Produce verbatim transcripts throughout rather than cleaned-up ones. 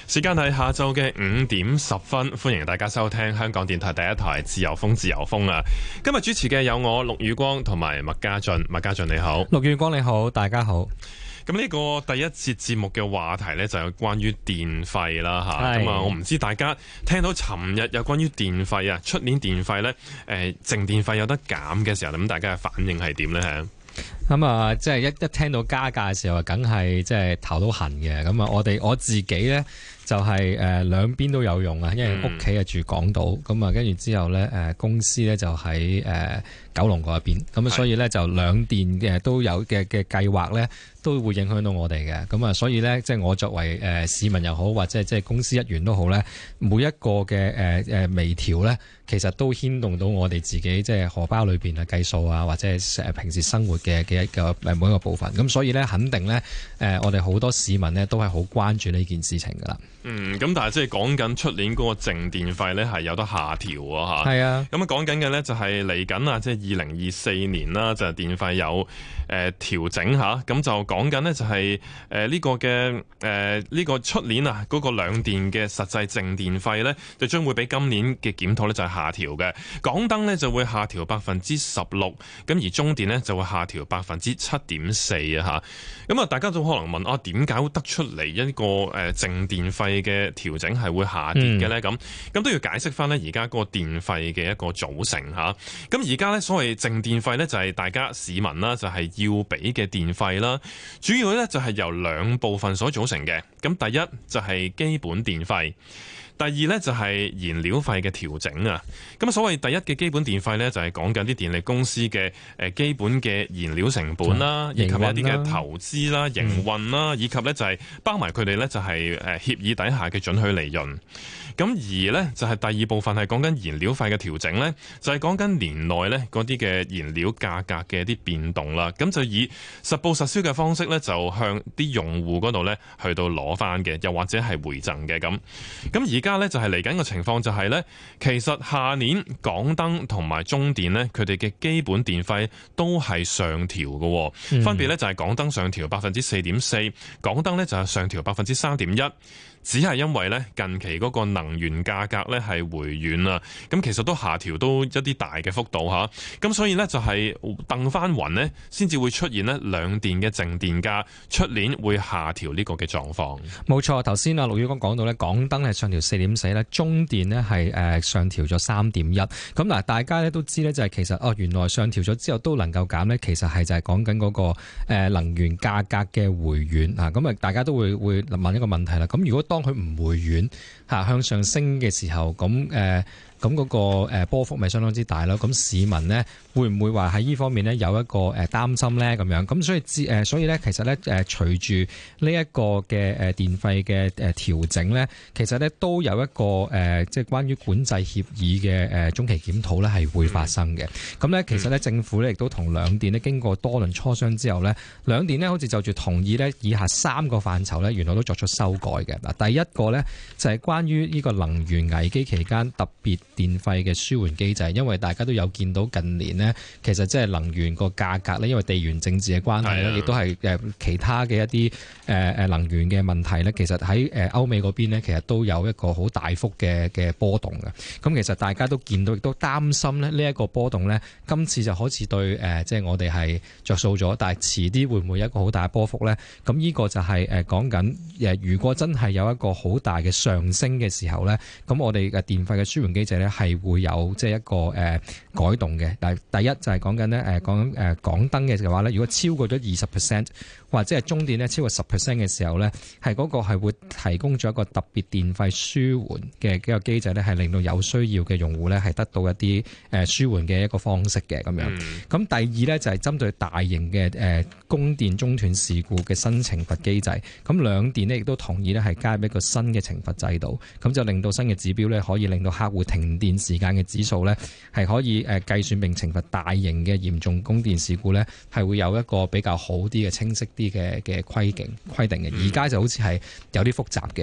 時間係下晝嘅五點十分，歡迎大家收聽香港電台第一台自由風自由風啊！今日主持嘅有我陸宇光同埋麥家俊，麥家俊你好， 陸宇光你好，大家好。 咁呢個第一節節目嘅話題呢，就有關於電費啦吓，咁啊我唔知大家聽到尋日有關於電費啊，出年電費呢，誒淨電費有得減嘅時候，咁大家嘅反應係點呢？ 咁啊，即係一一聽到加價嘅時候，梗係即係頭都痕嘅。咁啊，我哋我自己咧就係誒兩邊都有用啊，因為屋企係住港島，咁啊跟住之後咧誒公司咧就喺誒九龍嗰一邊，咁啊所以咧就兩電嘅都有嘅嘅計劃咧都會影響到我哋嘅。咁啊所以咧即係我作為誒市民又好，或者即係公司一員都好咧，每一個嘅誒誒微調咧，其實都牽動到我哋自己即係荷包裏邊啊計數啊，或者係誒平時生活嘅嘅一個誒每一個部分。咁所以咧肯定咧誒我哋好多市民咧都係好關注呢件事情噶啦。 嗯，咁但係即係講緊出年嗰個淨電費咧係有得下調啊嚇。係啊。咁啊講緊嘅咧就係嚟緊啊，即係二零二四年啦，就係電費有誒調整嚇。咁就講緊呢，就係誒呢個嘅誒呢個出年啊嗰個兩電嘅實際淨電費咧，就將會比今年嘅檢討咧就係下調嘅。港燈咧就會下調百分之十六，咁而中電咧就會下調百分之七點四啊嚇。咁啊大家都可能問啊，點解得出嚟一個誒淨電費嘅調整係會下跌嘅咧？咁咁、嗯、都要解釋翻咧，而家嗰個電費嘅一個組成嚇。咁而家咧所謂淨電費咧，就係大家市民啦，就係要俾嘅電費啦。主要咧就係由兩部分所組成嘅。咁第一就係基本電費。第二呢，就係燃料費嘅調整啊，咁所謂第一嘅基本電費呢，就係講緊啲電力公司嘅誒基本嘅燃料成本啦，以及一啲嘅投資啦、營運啦，以及呢就係包埋佢哋呢，就係誒協議底下嘅准許利潤。咁而呢，就係第二部分係講緊燃料費嘅調整呢，就係講緊年內呢嗰啲嘅燃料價格嘅一啲變動啦。咁就以實報實銷嘅方式呢，就向啲用戶嗰度呢去到攞翻嘅，又或者係回贈嘅咁。咁而而家咧就係嚟緊嘅情況就係咧，其實下年港燈同埋中電咧，佢哋嘅基本電費都係上調嘅，嗯、分別咧就係港燈上調百分之四點四，港燈咧就係上調百分之三點一。只係因為咧近期嗰個能源價格咧係回軟啊，咁其實都下調都一啲大嘅幅度嚇，咁所以咧就係掟翻雲呢，先至會出現呢兩電嘅淨電價出年會下調呢個嘅狀況。 冇錯，頭先啊陸宇光講到咧，港燈係上調四點四咧，中電呢係誒上調咗三點一。咁嗱，大家咧都知咧就係其實哦原來上調咗之後都能夠減咧，其實係就係講緊嗰個誒能源價格嘅回軟啊。咁啊，大家都會會問一個問題啦。咁如果當當佢唔回軟嚇向上升嘅時候，咁誒咁嗰個誒波幅咪相當之大咯。咁市民呢會唔會話喺呢方面呢有一個誒擔心呢？咁樣咁所以誒所以咧其實咧誒隨住呢一個嘅誒電費嘅誒調整咧，其實咧都有一個誒即係關於管制協議嘅誒中期檢討咧係會發生嘅。咁咧、嗯、其實咧政府咧亦都同兩電咧經過多輪磋商之後咧，兩電咧好似就住同意咧以下三個範疇咧原來都作出修改嘅。嗱，第一個咧就係關於呢個能源危機期間特別電費嘅舒緩機制，因為大家都有見到近年呢，其實即係能源個價格咧，因為地緣政治嘅關係咧，亦都係誒其他嘅一啲誒誒能源嘅問題咧，其實喺誒歐美嗰邊呢，其實都有一個好大幅嘅嘅波動嘅。咁其實大家都見到，亦都擔心咧呢一個波動咧，今次就好似對誒即係我哋係着數咗，但係遲啲會唔會有一個好大嘅波幅咧？咁呢個就係誒講緊誒，如果真係有一個好大嘅上升嘅時候咧，咁我哋嘅電費嘅舒緩機制咧係會有即係一個誒改動嘅。但係第一就係講緊咧誒講緊誒港燈嘅話咧，如果超過咗二十 percent 或者係中電咧超過十 percent 嘅時候咧，係嗰個係會提供咗一個特別電費舒緩嘅幾個機制咧，係令到有需要嘅用戶咧係得到一啲誒舒緩嘅一個方式嘅咁樣。咁、嗯、第二咧就係針對大型嘅誒供電中斷事故嘅新懲罰機制。咁兩電咧亦都同意咧係加入一個新嘅懲罰制度，咁就令到新嘅指標咧可以令到客戶停電時間嘅指數咧係可以誒計算並懲罰大型嘅嚴重供電事故咧，係會有一個比較好啲嘅清晰啲嘅嘅規定規定嘅。而家就好似係有啲複雜嘅。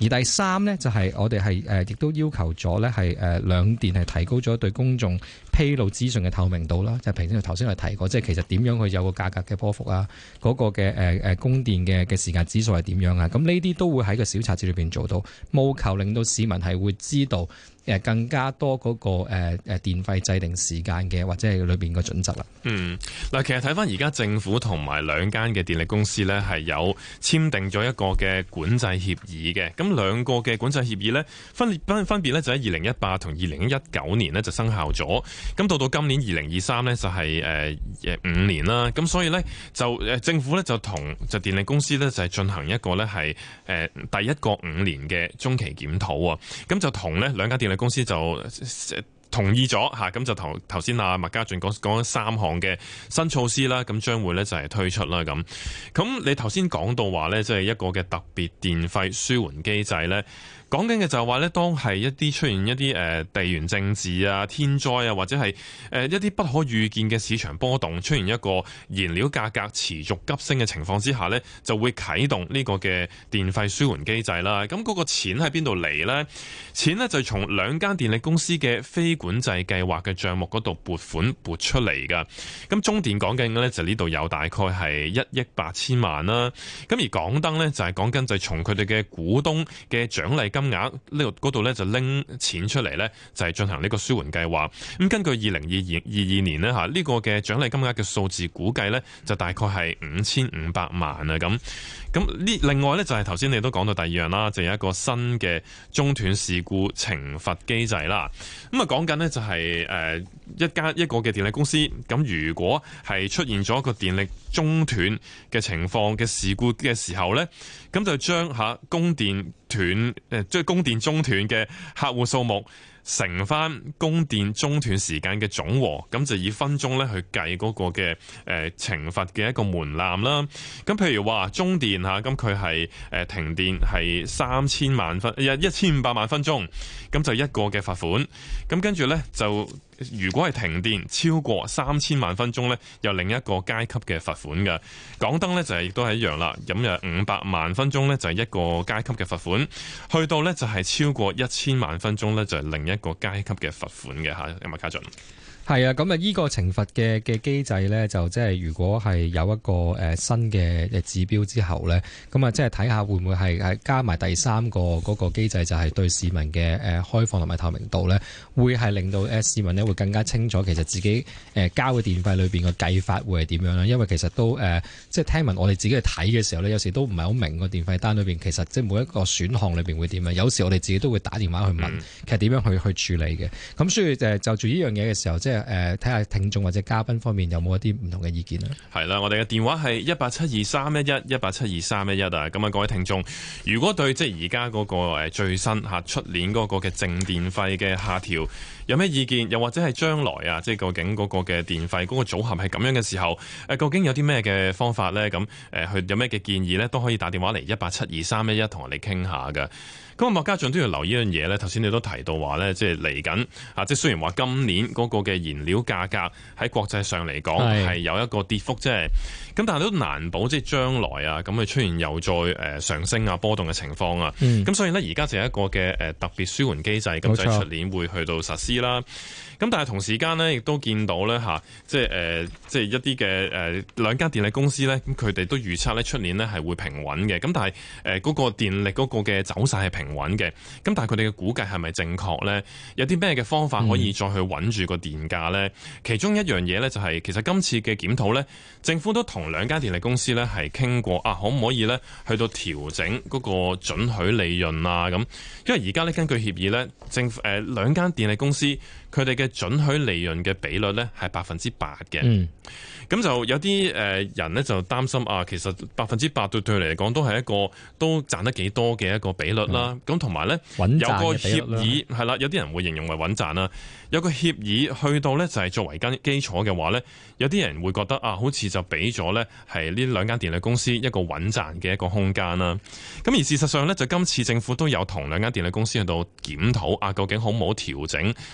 而第三呢，就係我哋係誒亦都要求咗呢係誒兩電係提高咗對公眾披露資訊嘅透明度啦。就平時頭先我提過，即係其實點樣去有個價格嘅波幅啊，嗰、嗰個嘅誒誒供電嘅嘅時間指數係點樣啊？咁呢啲都會喺個小冊子裏邊做到，務求令到市民係會知道誒更加多嗰個誒誒電費制定時間嘅或者係裏邊個準則啦。 嗯，嗱，其實睇翻而家政府同埋兩間嘅電力公司呢，係有簽訂咗一個嘅管制協議嘅。咁兩個嘅管制協議呢，分分分別呢就喺二零一八同二零一九年呢就生效咗。咁到到今年二零二三呢，就係誒誒五年啦。咁所以呢，就誒政府呢，就同就電力公司呢，就係進行一個呢係誒第一個五年嘅中期檢討啊。咁就同呢兩間電力公司就同意咗嚇，咁就頭頭先阿麥家俊講講三項嘅新措施啦，咁將會咧就係推出啦咁。咁你頭先講到話咧，即係一個嘅特別電費舒緩機制咧。講緊嘅就係話咧，當係一啲出現一啲誒地緣政治啊、天災啊，或者係誒一啲不可預見嘅市場波動，出現一個燃料價格持續急升嘅情況之下咧，就會啟動呢個嘅電費舒緩機制啦。咁嗰個錢喺邊度嚟呢？錢呢就從兩間電力公司嘅非管制計劃嘅帳目嗰度撥款撥出嚟噶。咁中電講緊嘅咧就呢度有大概係一億八千萬啦。咁而港燈呢，就係講緊就係從佢哋嘅股東嘅獎勵金金額呢度嗰度咧就拎錢出嚟咧，就係進行呢個舒緩計劃。咁根據二零二二二二年呢，吓呢個嘅獎勵金額嘅數字估計咧，就大概係五千五百萬啊咁。咁呢另外咧就係頭先你都講到第二樣啦，就有一個新嘅中斷事故懲罰機制啦。咁啊講緊呢，就係誒一家一個嘅電力公司，咁如果係出現咗一個電力中斷嘅情況嘅事故嘅時候咧，咁就將吓供電斷誒即係供電中斷嘅客戶數目乘翻供電中斷時間嘅總和，咁就以分鐘咧去計嗰個嘅誒懲罰嘅一個門檻啦。咁譬如話中電吓，咁佢係誒停電係三千萬分一一千五百萬分鐘，咁就一個嘅罰款。咁跟住咧就。如果係停電超過三千萬分鐘呢，有另一個階級嘅罰款嘅。港燈呢就係亦都係一樣啦，咁有五百萬分鐘呢，就係一個階級嘅罰款，去到呢，就係超過一千萬分鐘呢，就係另一個階級嘅罰款嘅嚇。有冇家俊？ 係啊，咁啊，依個懲罰嘅嘅機制咧，就即係如果係有一個誒新嘅指標之後咧，咁啊，即係睇下會唔會係係加埋第三個嗰個機制，就係對市民嘅誒開放同埋透明度咧，會係令到誒市民咧會更加清楚其實自己誒交嘅電費裏邊嘅計法會係點樣啦。因為其實都誒即係聽聞我哋自己去睇嘅時候咧，有時都唔係好明個電費單裏邊其實即係每一個選項裏邊會點樣。有時我哋自己都會打電話去問，嗯、其實點樣去去處理嘅。咁所以誒就住呢樣嘢嘅時候，即係誒睇下聽眾或者嘉賓方面有冇一啲唔同嘅意見咧？係啦，我哋嘅電話係一八七二三一一一八七二三一一啊。咁啊，各位聽眾，如果對即係而家嗰個誒最新嚇出年嗰個嘅淨電費嘅下調有咩意見，又或者係將來啊，即係究竟嗰個嘅電費嗰個組合係咁樣嘅時候，誒究竟有啲咩嘅方法咧？咁誒，佢有咩嘅建議咧？都可以打電話嚟一八七二三一一同我哋傾下㗎。咁啊，麥家俊都要留意一樣嘢咧。頭先你都提到話咧，即係嚟緊啊，即係雖然話今年嗰個嘅燃料價格喺國際上嚟講係有一個跌幅啫，咁但係都難保即係將來啊，咁佢出現又再誒上升啊波動嘅情況啊。咁、嗯、所以呢，而家就係一個嘅誒特別舒緩機制，咁就係出年會去到實施啦。咁但係同時間呢，亦都見到咧嚇，即係誒，即係一啲嘅誒兩間電力公司咧，咁佢哋都預測咧出年呢係會平穩嘅。咁但係誒嗰個電力嗰個嘅走勢係平穩嘅。咁但係佢哋嘅估計係咪正確咧？有啲咩嘅方法可以再去穩住個電價咧？嗯、其中一樣嘢咧就係、是、其實今次嘅檢討咧，政府都同兩間電力公司咧係傾過啊，可唔可以咧去到調整嗰個准許利潤啊咁？因為而家咧根據協議咧，政府誒兩間電力公司佢哋嘅准許利潤嘅比率咧係百分之八嘅。嗯咁就有啲誒人咧就擔心啊，其實百分之八對對佢嚟講都係一個都賺得幾多嘅一個比率啦。咁同埋咧有個協議係啦，有啲人會形容為穩賺啦。有個協議去到咧就係作為間基礎嘅話咧，有啲人會覺得啊，好似就俾咗咧係呢兩間電力公司一個穩賺嘅一個空間啦。咁而事實上咧，就今次政府都有同兩間電力公司去到檢討啊，究竟好唔好調整呢個准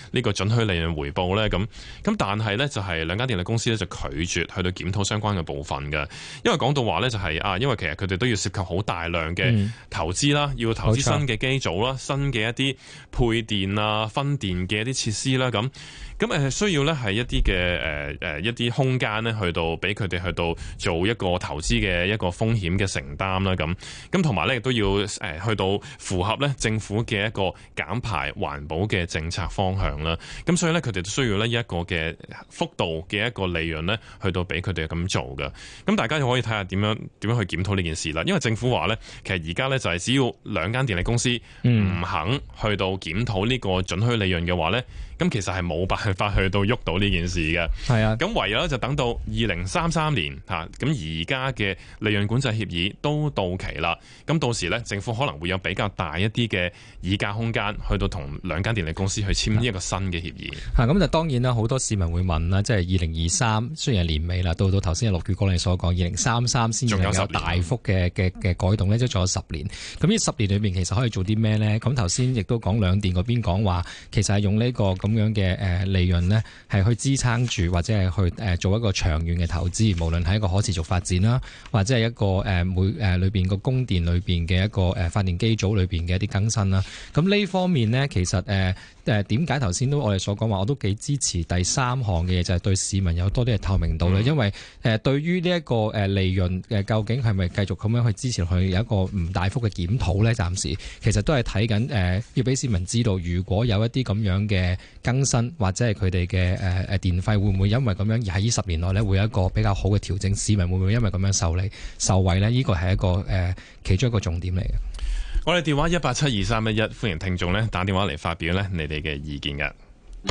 準許利潤回報咧？咁咁但係咧就係兩間電力公司咧就拒絕去到檢討相關嘅部分嘅，因為講到話咧就係啊，因為其實佢哋都要涉及好大量嘅投資啦，嗯、要投資新嘅機組啦、新嘅一啲配電啊、分電嘅一啲設施啦，咁咁誒需要咧係一啲嘅誒誒一啲空間咧去到俾佢哋去到做一個投資嘅一個風險嘅承擔啦，咁咁同埋咧亦都要誒去到符合咧政府嘅一個減排環保嘅政策方向啦，咁所以咧佢哋都需要呢一個嘅幅度嘅一個利潤咧去到俾佢哋咁做嘅，咁大家就可以睇下點樣點樣去檢討呢件事啦，因為政府話咧其實而家咧就係只要兩間電力公司唔肯去到檢討呢個準許利潤嘅話咧，咁其實係冇辦法去到喐到呢件事嘅。係啊，咁唯有咧就等到二零三三年吓，咁而家嘅利潤管制協議都到期啦。咁到時咧，政府可能會有比較大一啲嘅議價空間，去到同兩間電力公司去簽一個新嘅協議。吓，咁就當然啦，好多市民會問啦，即係二零二三雖然係年尾啦，到到頭先陸宇光你所講，二零三三先至有大幅嘅嘅嘅改動咧，即係仲有十年。咁呢十年裏面其實可以做啲咩咧？咁頭先亦都講兩電嗰邊講話，其實係用呢個咁樣嘅誒利潤呢，係去支撐住或者係去誒做一個長遠嘅投資，無論係一個可持續發展啦，或者係一個誒每誒裏邊個供電裏邊嘅一個誒發電機組裏邊嘅一啲更新啦。咁呢方面呢，其實誒誒點解頭先都我哋所講話，我都幾支持第三項嘅嘢，就係對市民有多啲嘅透明度咧。因為誒對於呢一個誒利潤誒究竟係咪繼續咁樣去支持佢有一個唔大幅嘅檢討咧？暫時其實都係睇緊誒，要俾市民知道，如果有一啲咁樣嘅更新或者係佢哋嘅誒誒電費會唔會因為咁樣而喺呢十年內咧會有一個比較好嘅調整？市民會唔會因為咁樣受利受惠呢？呢個係一個誒、呃、其中一個重點嚟嘅。我哋電話一八七二三一一，歡迎聽眾咧打電話嚟發表咧你哋嘅意見嘅。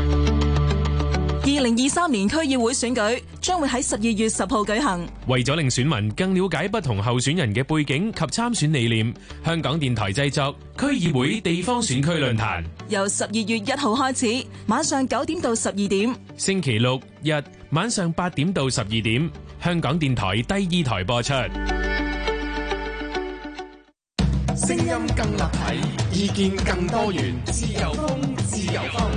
二零二三年區議會選舉將會喺十二月十號舉行。為咗令選民更了解不同候選人嘅背景及參選理念，香港電台製作區議會地方選區論壇，由十二月一號開始，晚上九點到十二點，星期六日晚上八點到十二點，香港電台第二台播出。聲音更立體，意見更多元，自由風，自由風。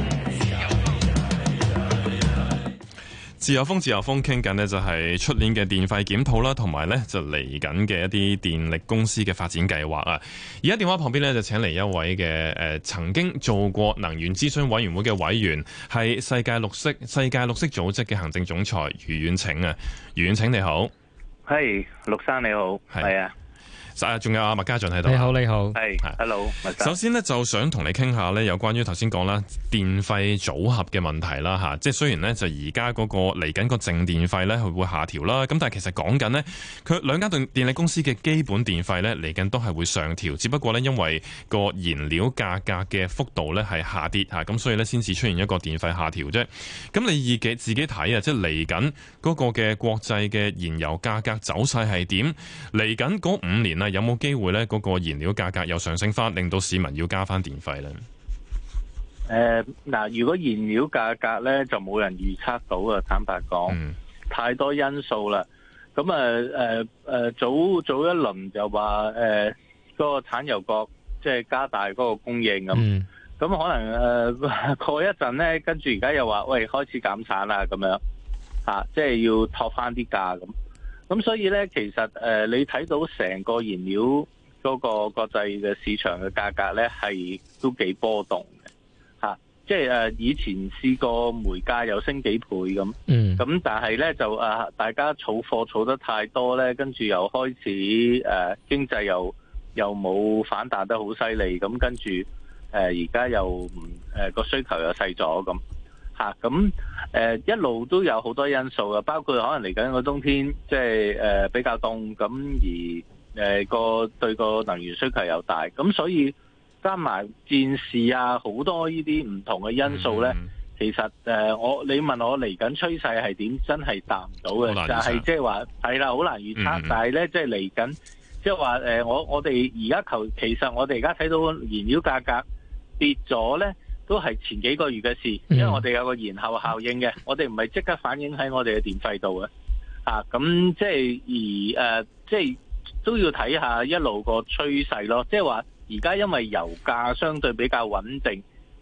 自由風，自由風傾緊呢就係出年嘅電費檢討啦，同埋呢就嚟緊嘅一啲電力公司嘅發展計劃啊。而家電話旁邊呢，就請嚟一位嘅誒曾經做過能源諮詢委員會嘅委員，係世界綠色世界綠色組織嘅行政總裁余遠騁啊。余遠騁你好， 係陸生你好，係啊。 仲有阿麥家俊喺度。 你好，你好， 係，hello。 首先呢，就想同你傾下呢，有關於頭先講啦，電費組合嘅問題啦，吓，即係雖然呢，就而家嗰個嚟緊個淨電費呢，佢會下調啦，咁但係其實講緊呢，佢兩間電電力公司嘅基本電費呢，嚟緊都係會上調，只不過呢，因為個燃料價格嘅幅度呢係下跌吓，咁所以呢，先至出現一個電費下調啫。咁你自己自己睇啊，即係嚟緊嗰個嘅國際嘅燃油價格走勢係點？嚟緊嗰五年啊，有冇機會咧？嗰個燃料價格又上升翻，令到市民要加翻電費咧？誒、 呃，嗱，如果燃料價格咧，就冇人預測到啊！坦白講，嗯、太多因素啦。咁啊，誒、呃、誒、呃，早早一輪就話誒，嗰、呃那個產油國即係加大嗰個供應咁。咁、嗯、可能誒、呃、過一陣咧，跟住而家又話喂，開始減產啦，咁樣吓、啊，即係要托翻啲價咁。咁所以咧，其實誒、呃，你睇到成個燃料嗰個國際嘅市場嘅價格咧，係都幾波動嘅嚇。即係誒，以前試過煤價又升幾倍咁，嗯，咁但係咧就啊，大家儲貨儲得太多咧，跟住又開始誒、呃、經濟又又冇反彈得好犀利，咁跟住誒而家又唔誒個需求又細咗咁。咁誒、呃、一路都有好多因素嘅，包括可能嚟緊個冬天，即係誒比較凍，咁而誒個、呃、對個能源需求又大，咁所以加埋戰事啊，好多呢啲唔同嘅因素咧，嗯、其實誒、呃、我你問我嚟緊趨勢係點，真係答唔到嘅，就係即係話係啦，好難預測，嗯、但係咧即係嚟緊，即係話誒我我哋而家求，其實我哋而家睇到燃料價格跌咗咧。都係前幾個月嘅事，因為我哋有個延後效應嘅，我哋唔係即刻反映喺我哋嘅電費度嘅，啊，咁即係而誒、呃，即係都要睇下一路個趨勢咯。即係話而家因為油價相對比較穩定，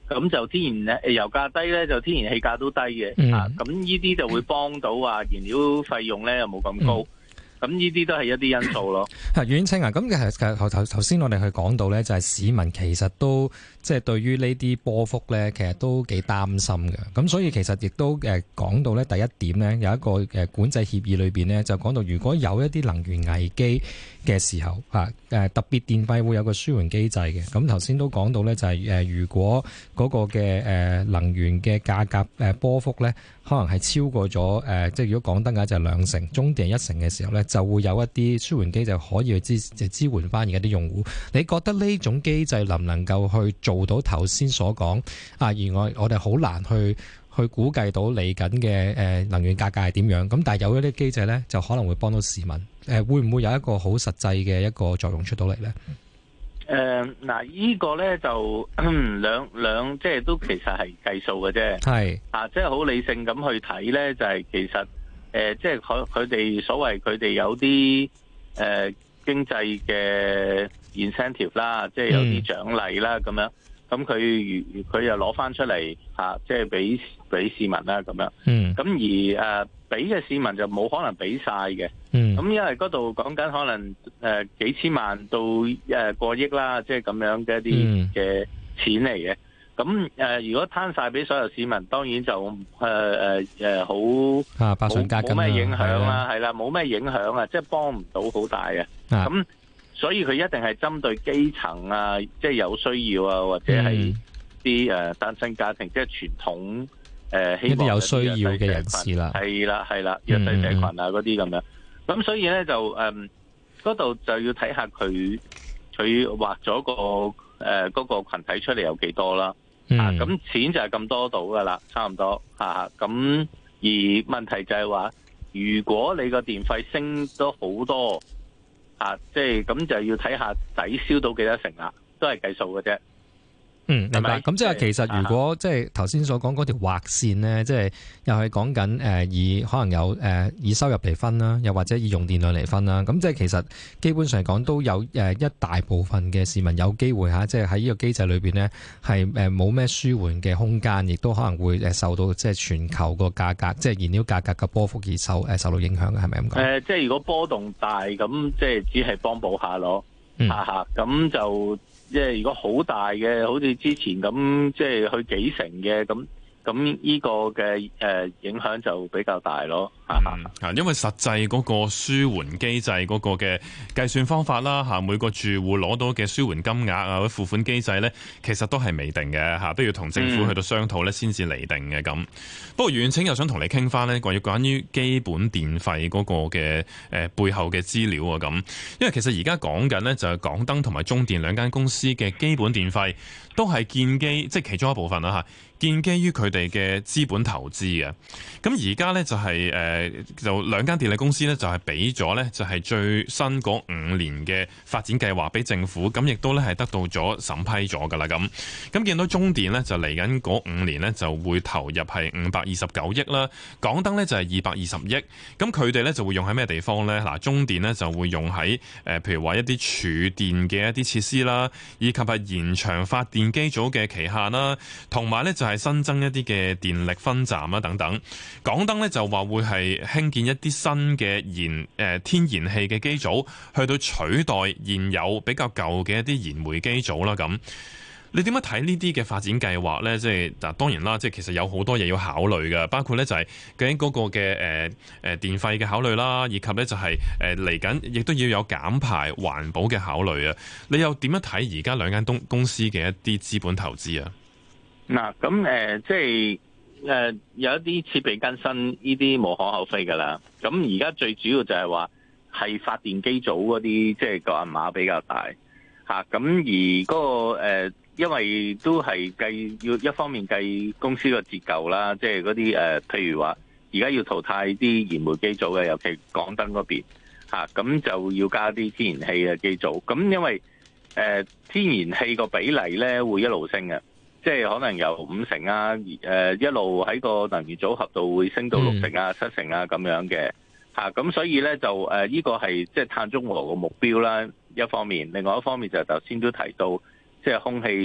咁就天然誒油價低咧，就天然氣價都低嘅。 嗯、 啊，咁呢啲就會幫到話燃料費用咧又冇咁高。嗯咁呢啲都係一啲因素咯。 係阮清啊，咁其實頭頭頭先我哋去講到咧，就係市民其實都即係對於呢啲波幅咧，其實都幾擔心嘅。咁所以其實亦都誒講到咧，第一點咧，有一個誒管制協議裏邊咧，就講到如果有一啲能源危機嘅時候啊，誒特別電費會有個舒緩機制嘅。咁頭先都講到咧，就係誒如果嗰個嘅誒能源嘅價格誒波幅咧，可能係超過咗誒，即係如果港燈嘅就係兩成，中電一成嘅時候咧，就會有一啲舒緩機制可以去支就支援翻而家啲用戶。你覺得呢種機制能唔能夠去做到頭先所講啊？而我我哋好難去去估計到嚟緊嘅誒能源價格係點樣？咁但係有咗啲機制咧，就可能會幫到市民。誒會唔會有一個好實際嘅一個作用出到嚟咧？ 誒、呃，嗱，呢個咧就兩兩，即係都其實係計數嘅啫。係啊，即係好理性咁去睇咧，就係、是、其實誒、呃，即係佢佢哋所謂佢哋有啲誒、呃、經濟嘅 incentive 啦，即係有啲獎勵啦，咁、嗯、樣。咁佢如佢又攞翻出嚟嚇，即係俾俾市民啦咁樣。嗯。咁而誒俾嘅市民就冇可能俾晒嘅。嗯。咁因為嗰度講緊可能誒幾千萬到誒過億啦，即係咁樣嘅一啲嘅錢嚟嘅。咁誒如果攤晒俾所有市民，當然就誒誒誒好啊，百上加斤啦， 冇咩影響啦，係啦，冇咩影響啊，即係幫唔到好大嘅。咁所以佢一定係針對基層啊，即係有需要啊，或者係啲誒單親家庭，即係傳統誒希望有需要嘅人士啦， 係啦係啦，弱勢社群啊嗰啲咁樣。咁所以咧就誒嗰度就要睇下佢佢劃咗個誒嗰個群體出嚟有幾多啦。啊，咁錢就係咁多到噶啦，差唔多嚇。咁而問題就係話，如果你個電費升咗好多。啊，即係咁就要睇下抵消到幾多成啦，都係計數嘅啫。 嗯，明白。咁即係其實如果即係頭先所講嗰條劃線咧，即係又係講緊誒以可能有誒以收入嚟分啦，又或者以用電量嚟分啦。咁即係其實基本上講都有誒一大部分嘅市民有機會嚇，即係喺呢個機制裏邊咧係誒冇咩舒緩嘅空間，亦都可能會誒受到即係全球個價格即係燃料價格嘅波幅而受誒受到影響嘅，係咪咁講？ 誒，即係如果波動大，咁即係只係幫補下咯，嚇嚇咁就。即係如果好大嘅，好似之前咁，即係去幾成嘅咁，咁呢個嘅誒影響就比較大咯。 嗯，因為實際嗰個舒緩機制嗰個嘅計算方法啦，嚇每個住戶攞到嘅舒緩金額啊，或者付款機制咧，其實都係未定嘅嚇，都要同政府去到商討咧先至釐定嘅咁。嗯、不過遠騁又想同你傾翻咧，關於關於基本電費嗰個嘅誒背後嘅資料啊咁，因為其實而家講緊咧就係港燈同埋中電兩間公司嘅基本電費都係建基，即係其中一部分啦嚇，建基於佢哋嘅資本投資嘅。咁而家咧就係誒。就兩間電力公司咧，就係俾咗咧，就係最新嗰五年嘅發展計劃俾政府，咁亦都咧係得到咗審批咗噶啦咁。咁見到中電咧就嚟緊嗰五年咧就會投入係五百二十九億啦，港燈咧就係二百二十億。咁佢哋咧就會用喺咩地方咧？嗱，中電咧就會用喺誒，譬如話一啲儲電嘅一啲設施啦，以及係延長發電機組嘅期限啦，同埋咧就係新增一啲嘅電力分站啦等等。港燈咧就話會係興建一啲新嘅燃誒、呃、天然氣嘅機組，去到取代現有比較舊嘅一啲燃煤機組啦。咁你點樣睇呢啲嘅發展計劃呢？即係嗱，當然啦，即係其實有好多嘢要考慮嘅，包括呢就係究竟嗰個嘅誒誒電費嘅考慮啦，以及呢就係誒嚟緊亦都要有減排環保嘅考慮啊。你又點樣睇而家兩間東公司嘅一啲資本投資啊？ 嗱，咁誒即係。誒、呃、有一啲設備更新，呢啲無可厚非㗎啦。咁而家最主要就係話係發電機組嗰啲，即係個銀碼比較大嚇。咁、啊、而嗰、那個、呃、因為都係計要一方面計公司個折舊啦，即係嗰啲誒，譬如話而家要淘汰啲燃煤機組嘅，尤其港燈嗰邊嚇，咁、啊、就要加啲天然氣嘅機組。咁因為誒、呃、天然氣個比例咧會一路升嘅。即係可能由五成啊，誒一路喺個能源組合度會升到六成啊、七成啊咁樣嘅嚇，咁所以咧就誒呢個係即係碳中和個目標啦，一方面，另外一方面就頭先都提到，即係空氣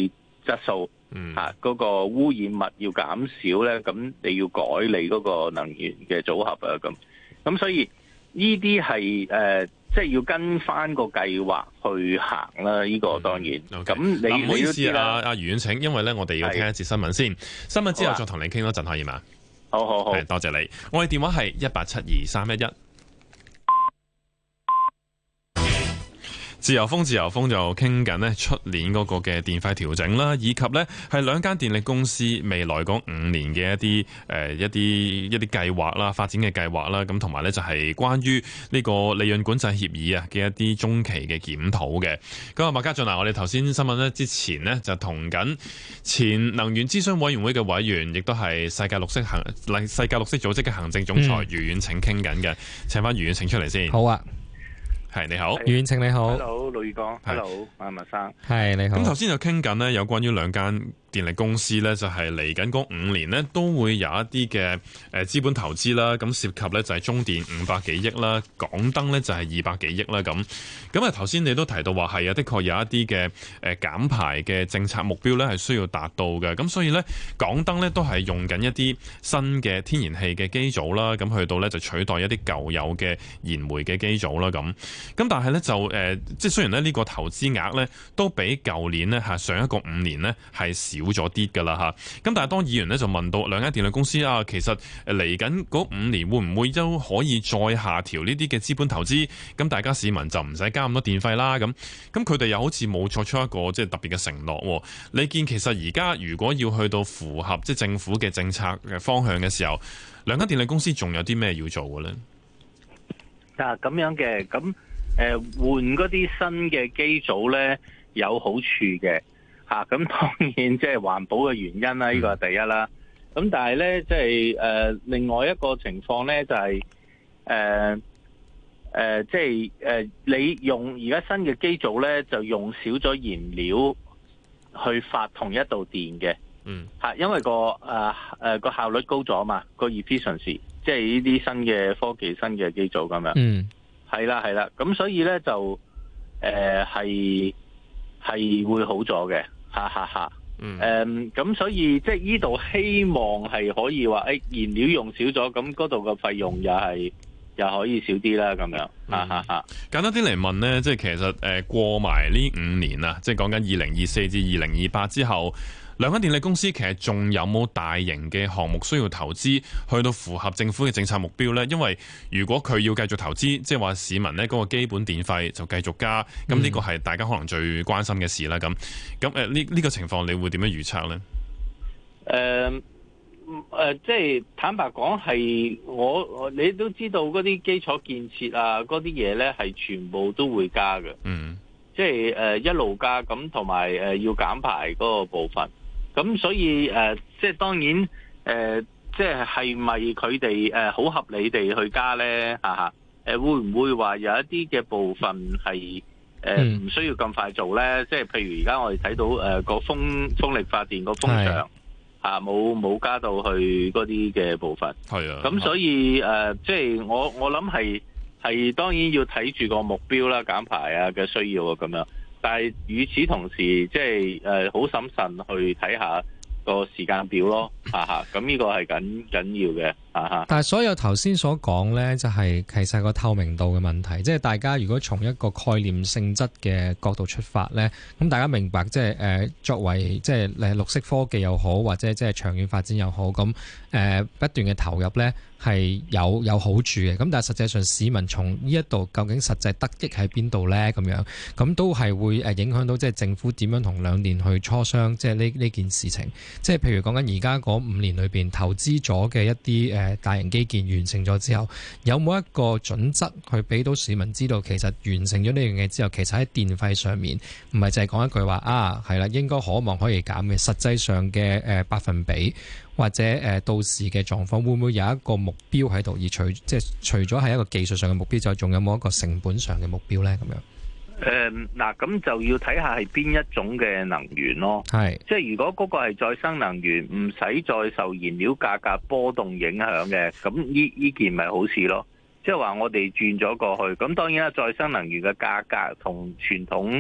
質素， 嗯啊嗰個污染物要減少咧，咁你要改你嗰個能源嘅組合啊，咁咁所以呢啲係誒即係要跟翻個計劃去行啦。呢個當然咁、嗯 okay. 你唔好意思啊，阿余遠騁，因為咧我哋要聽一節新聞先，新聞之後再同你傾多陣可以嘛？ 好好好， 多謝你。我哋電話係一八七二三一一。自由風自由風就傾緊呢出年嗰個嘅電費調整啦，以及呢係兩間電力公司未來嗰五年嘅一啲誒、呃、一啲一啲計劃啦，發展嘅計劃啦，咁同埋呢就係關於呢個利潤管制協議啊嘅一啲中期嘅檢討嘅。咁啊，麥家俊啊，我哋頭先新聞呢之前呢就同緊前能源諮詢委員會嘅委員，亦都係世界綠色行世界綠色組織嘅行政總裁余遠騁傾緊嘅，請翻余遠騁出嚟先。 好啊。 係你好， 余遠騁你好。 Hello， 盧宇光。Hello， 阿麥生。 係你好。 咁頭先就傾緊呢，有關於兩間電力公司呢，就係嚟緊嗰五年呢，都會有一啲嘅誒資本投資啦。咁涉及呢，就係中電五百幾億啦，港燈呢，就係二百幾億啦。咁咁啊，頭先你都提到話係啊，的確有一啲嘅誒減排嘅政策目標呢，係需要達到嘅。咁所以呢，港燈呢，都係用緊一啲新嘅天然氣嘅機組啦，咁去到呢，就取代一啲舊有嘅燃煤嘅機組啦。咁咁但係咧就誒、呃，即係雖然咧呢個投資額咧都比舊年咧嚇上一個五年咧係少咗啲㗎啦嚇。咁但係當議員咧就問到兩間電力公司啊，其實誒嚟緊嗰五年會唔會都可以再下調呢啲嘅資本投資？咁大家市民就唔使交咁多電費啦。咁咁佢哋又好似冇作出一個即係特別嘅承諾。你見其實而家如果要去到符合即係政府嘅政策嘅方向嘅時候，兩間電力公司仲有啲咩要做嘅咧？ 嗱咁樣嘅咁。誒換嗰啲新嘅機組咧有好處嘅嚇，咁、啊、當然即係環保嘅原因啦，呢個係第一啦。咁但係咧即係誒另外一個情況咧就係誒誒即係誒你用而家新嘅機組咧就用少咗燃料去發同一度電嘅，嗯嚇，因為個誒誒個效率高咗嘛，個 efficiency 即係呢啲新嘅科技新嘅機組咁樣。嗯。係啦，係啦，咁所以咧就誒係係會好咗嘅，哈哈哈。嗯。誒，咁所以即係呢度希望係可以話，誒、哎、燃料用少咗，咁嗰度嘅費用又係又可以少啲啦，咁樣，哈哈哈。 簡單啲嚟問咧，即係其實誒過埋呢五年啊，即係講緊二零二四至二零二八之後。兩間電力公司其實仲有冇大型嘅項目需要投資去到符合政府嘅政策目標呢？因為如果佢要繼續投資，即係話市民呢嗰個基本電費就繼續加，咁呢個係大家可能最關心嘅事啦。咁咁誒呢呢個情況，你會點樣預測呢？ 誒、呃、誒、呃，即係坦白講，係我你都知道嗰啲基礎建設啊，嗰啲嘢呢係全部都會加嘅。嗯，即係誒、呃、一路加，咁同埋誒要減排嗰個部分。咁所以誒、呃，即係當然誒、呃，即係係咪佢哋誒好合理地去加咧？嚇嚇誒，會唔會話有一啲嘅部分係誒唔需要咁快做咧？即係譬如而家我哋睇到誒個、呃、風風力發電個風場嚇冇冇加到去嗰啲嘅部分。係啊。咁所以誒、呃，即係我我諗係係當然要睇住個目標啦，減排啊嘅需要啊咁樣。但係與此同時，即係誒好審慎去睇下個時間表咯，嚇嚇，咁呢個係緊緊要嘅，嚇嚇。但係所有頭先所講咧，就係其實係個透明度嘅問題，即係大家如果從一個概念性質嘅角度出發咧，咁大家明白即係誒作為即係誒綠色科技又好，或者即係長遠發展又好，咁誒不斷嘅投入咧係有有好處嘅。咁但係實際上市民從呢一度究竟實際得益喺邊度咧？咁樣咁都係會誒影響到即係政府點樣同兩電去磋商，即係呢呢件事情。即係譬如講緊而家嗰五年裏邊投資咗嘅一啲誒大型基建完成咗之後，有冇一個準則去俾到市民知道，其實完成咗呢樣嘢之後，其實喺電費上面唔係淨係講一句話啊，係啦，應該可望可以減嘅，實際上嘅誒百分比或者誒到時嘅狀況，會唔會有一個目標喺度？而除即係除咗係一個技術上嘅目標，就仲有冇一個成本上嘅目標咧？咁樣？誒，嗱，咁就要睇下係邊一種嘅能源咯。係，即係如果嗰個係再生能源，唔使再受燃料價格波動影響嘅，咁呢呢件咪好事咯。即係話我哋轉咗過去，咁當然啦，再生能源嘅價格同傳統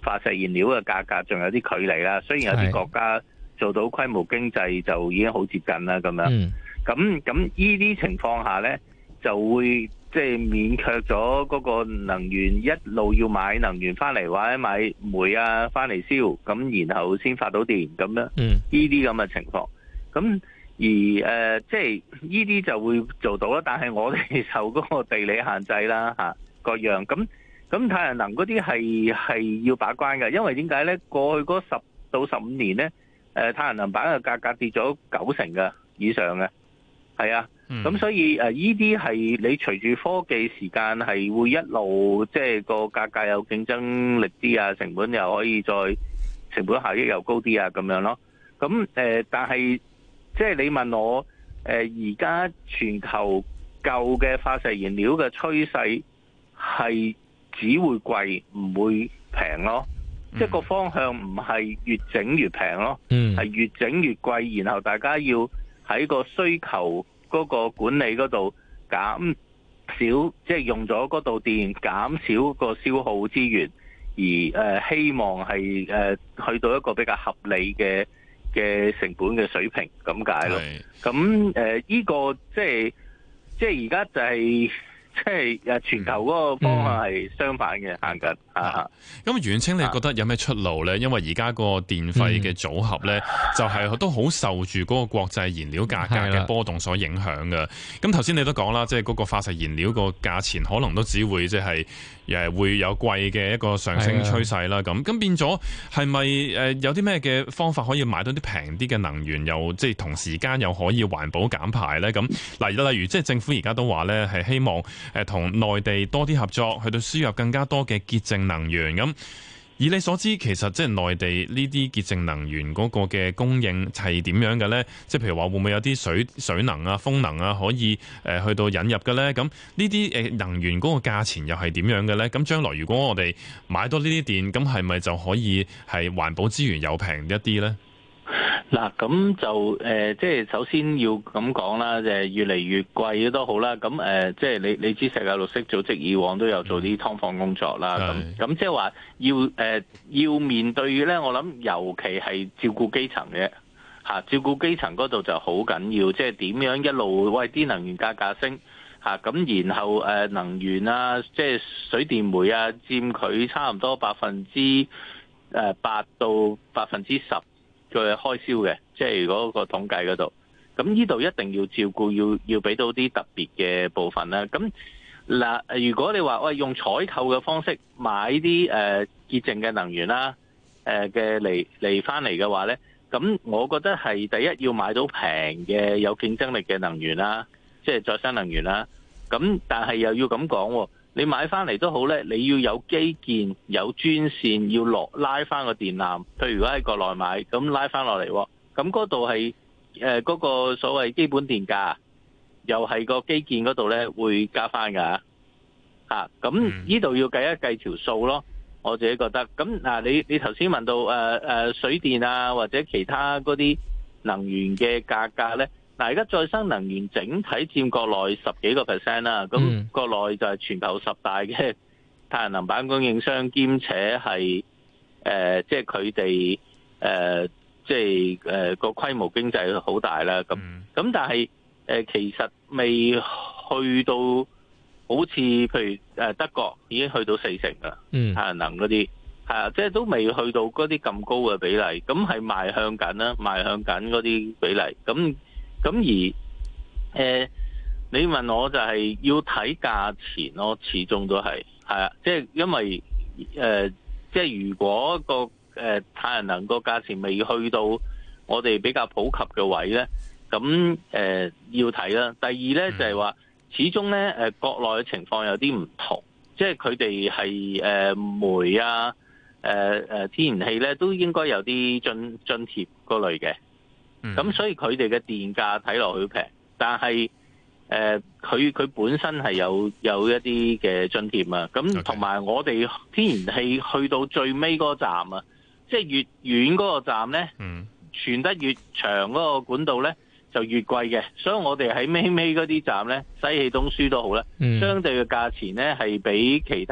化石燃料嘅價格仲有啲距離啦。雖然有啲國家做到規模經濟就已經好接近啦，咁樣。咁咁呢啲情況下呢，就會即係勉強咗嗰個能源一路要買能源翻嚟，或者買煤啊翻嚟燒，咁然後先發到電咁樣。呢啲咁嘅情況，咁而誒、呃、即係呢啲就會做到啦。但係我哋受嗰個地理限制啦，嚇各樣。咁咁太陽能嗰啲係係要把關嘅，因為點解呢？過去嗰十到十五年呢，誒太陽能板嘅價格跌咗九成嘅以上嘅，係啊。咁、嗯、所以誒，依啲係你隨住科技時間係會一路即係個價格有競爭力啲啊，成本又可以再成本效益又高啲啊，咁樣咯。咁誒、呃，但係即係你問我誒，而、呃、家全球舊嘅化石燃料嘅趨勢係只會貴，唔會平咯。嗯、即係個方向唔係越整越平咯，係、嗯、越整越貴，然後大家要喺個需求嗰個管理嗰度減少，即係用咗嗰度電，減少個消耗資源，而誒希望係誒去到一個比較合理嘅嘅成本嘅水平咁解咯。咁誒呢個即係即係而家就係即係誒全球嗰個方向係相反嘅行緊啊。 咁遠清你覺得有咩出路咧？因為而家個電費嘅組合咧，就係都好受住嗰個國際燃料價格嘅波動所影響嘅。咁頭先你都講啦，即係嗰個化石燃料個價錢可能都只會即係誒會有貴嘅一個上升趨勢啦。咁咁變咗係咪誒有啲咩嘅方法可以買到啲平啲嘅能源，又即係同時間又可以環保減排咧？咁嗱，例如即係政府而家都話咧係希望誒同內地多啲合作，去到輸入更加多嘅潔淨能源。咁以你所知，其實即係內地呢啲潔淨能源嗰個嘅供應係點樣嘅咧？即係譬如話會唔會有啲水水能啊、風能啊可以誒去到引入嘅咧？咁呢啲誒能源嗰個價錢又係點樣嘅咧？咁將來如果我哋買多呢啲電，咁係咪就可以係環保資源又平一啲咧？ 嗱，咁就誒，即係首先要咁講啦，就係越嚟越貴都好啦。咁誒，即係你你知世界綠色組織以往都有做啲劏房工作啦。咁咁即係話要誒要面對嘅咧，我諗尤其係照顧基層嘅嚇，照顧基層嗰度就好緊要。即係點樣一路喂啲能源價格升嚇，咁然後誒能源啊，即係水電煤啊，佔佢差唔多百分之誒八到百分之十嘅開銷嘅，即係嗰個統計嗰度，咁呢度一定要照顧，要要俾到啲特別嘅部分啦。咁嗱，如果你話喂用採購嘅方式買啲誒潔淨嘅能源啦，誒嘅嚟嚟翻嚟嘅話咧，咁我覺得係第一要買到平嘅有競爭力嘅能源啦，即係再生能源啦。咁但係又要咁講，你買翻嚟都好咧，你要有基建、有專線，要落拉翻個電纜。譬如如果喺國內買，咁拉翻落嚟，咁嗰度係誒嗰個所謂基本電價，又係個基建嗰度咧會加翻㗎嚇。咁呢度要計一計條數咯，我自己覺得。咁嗱，你你頭先問到誒誒、呃、水電啊，或者其他嗰啲能源嘅價格咧。嗱，而家再生能源整體佔國內十幾個 percent 啦，咁國內就係全球十大嘅太陽能板供應商，兼且係誒，即係佢哋誒，即係誒個規模經濟好大啦。咁咁但係誒，其實未去到好似譬如誒德國已經去到四成啦，太陽能嗰啲係啊，即係都未去到嗰啲咁高嘅比例，咁係邁向緊啦，邁向緊嗰啲比例咁。咁而誒、呃，你問我就係要睇價錢咯，始終都係係啊，即係因為誒、呃，即係如果個誒、呃、太陽能個價錢未去到我哋比較普及嘅位咧，咁誒、呃、要睇啦。第二咧就係話，始終咧誒國內嘅情況有啲唔同，即係佢哋係誒煤啊、誒、呃、誒天然氣咧都應該有啲津津貼嗰類嘅。咁、嗯、所以佢哋嘅電價睇落去平，但係誒佢佢本身係有有一啲嘅津貼啊。咁同埋我哋天然氣去到最尾嗰個站啊，即係越遠嗰個站咧，嗯、傳得越長嗰個管道咧就越貴嘅。所以我哋喺尾尾嗰啲站咧，西氣東輸都好啦，嗯、相對嘅價錢咧係比其他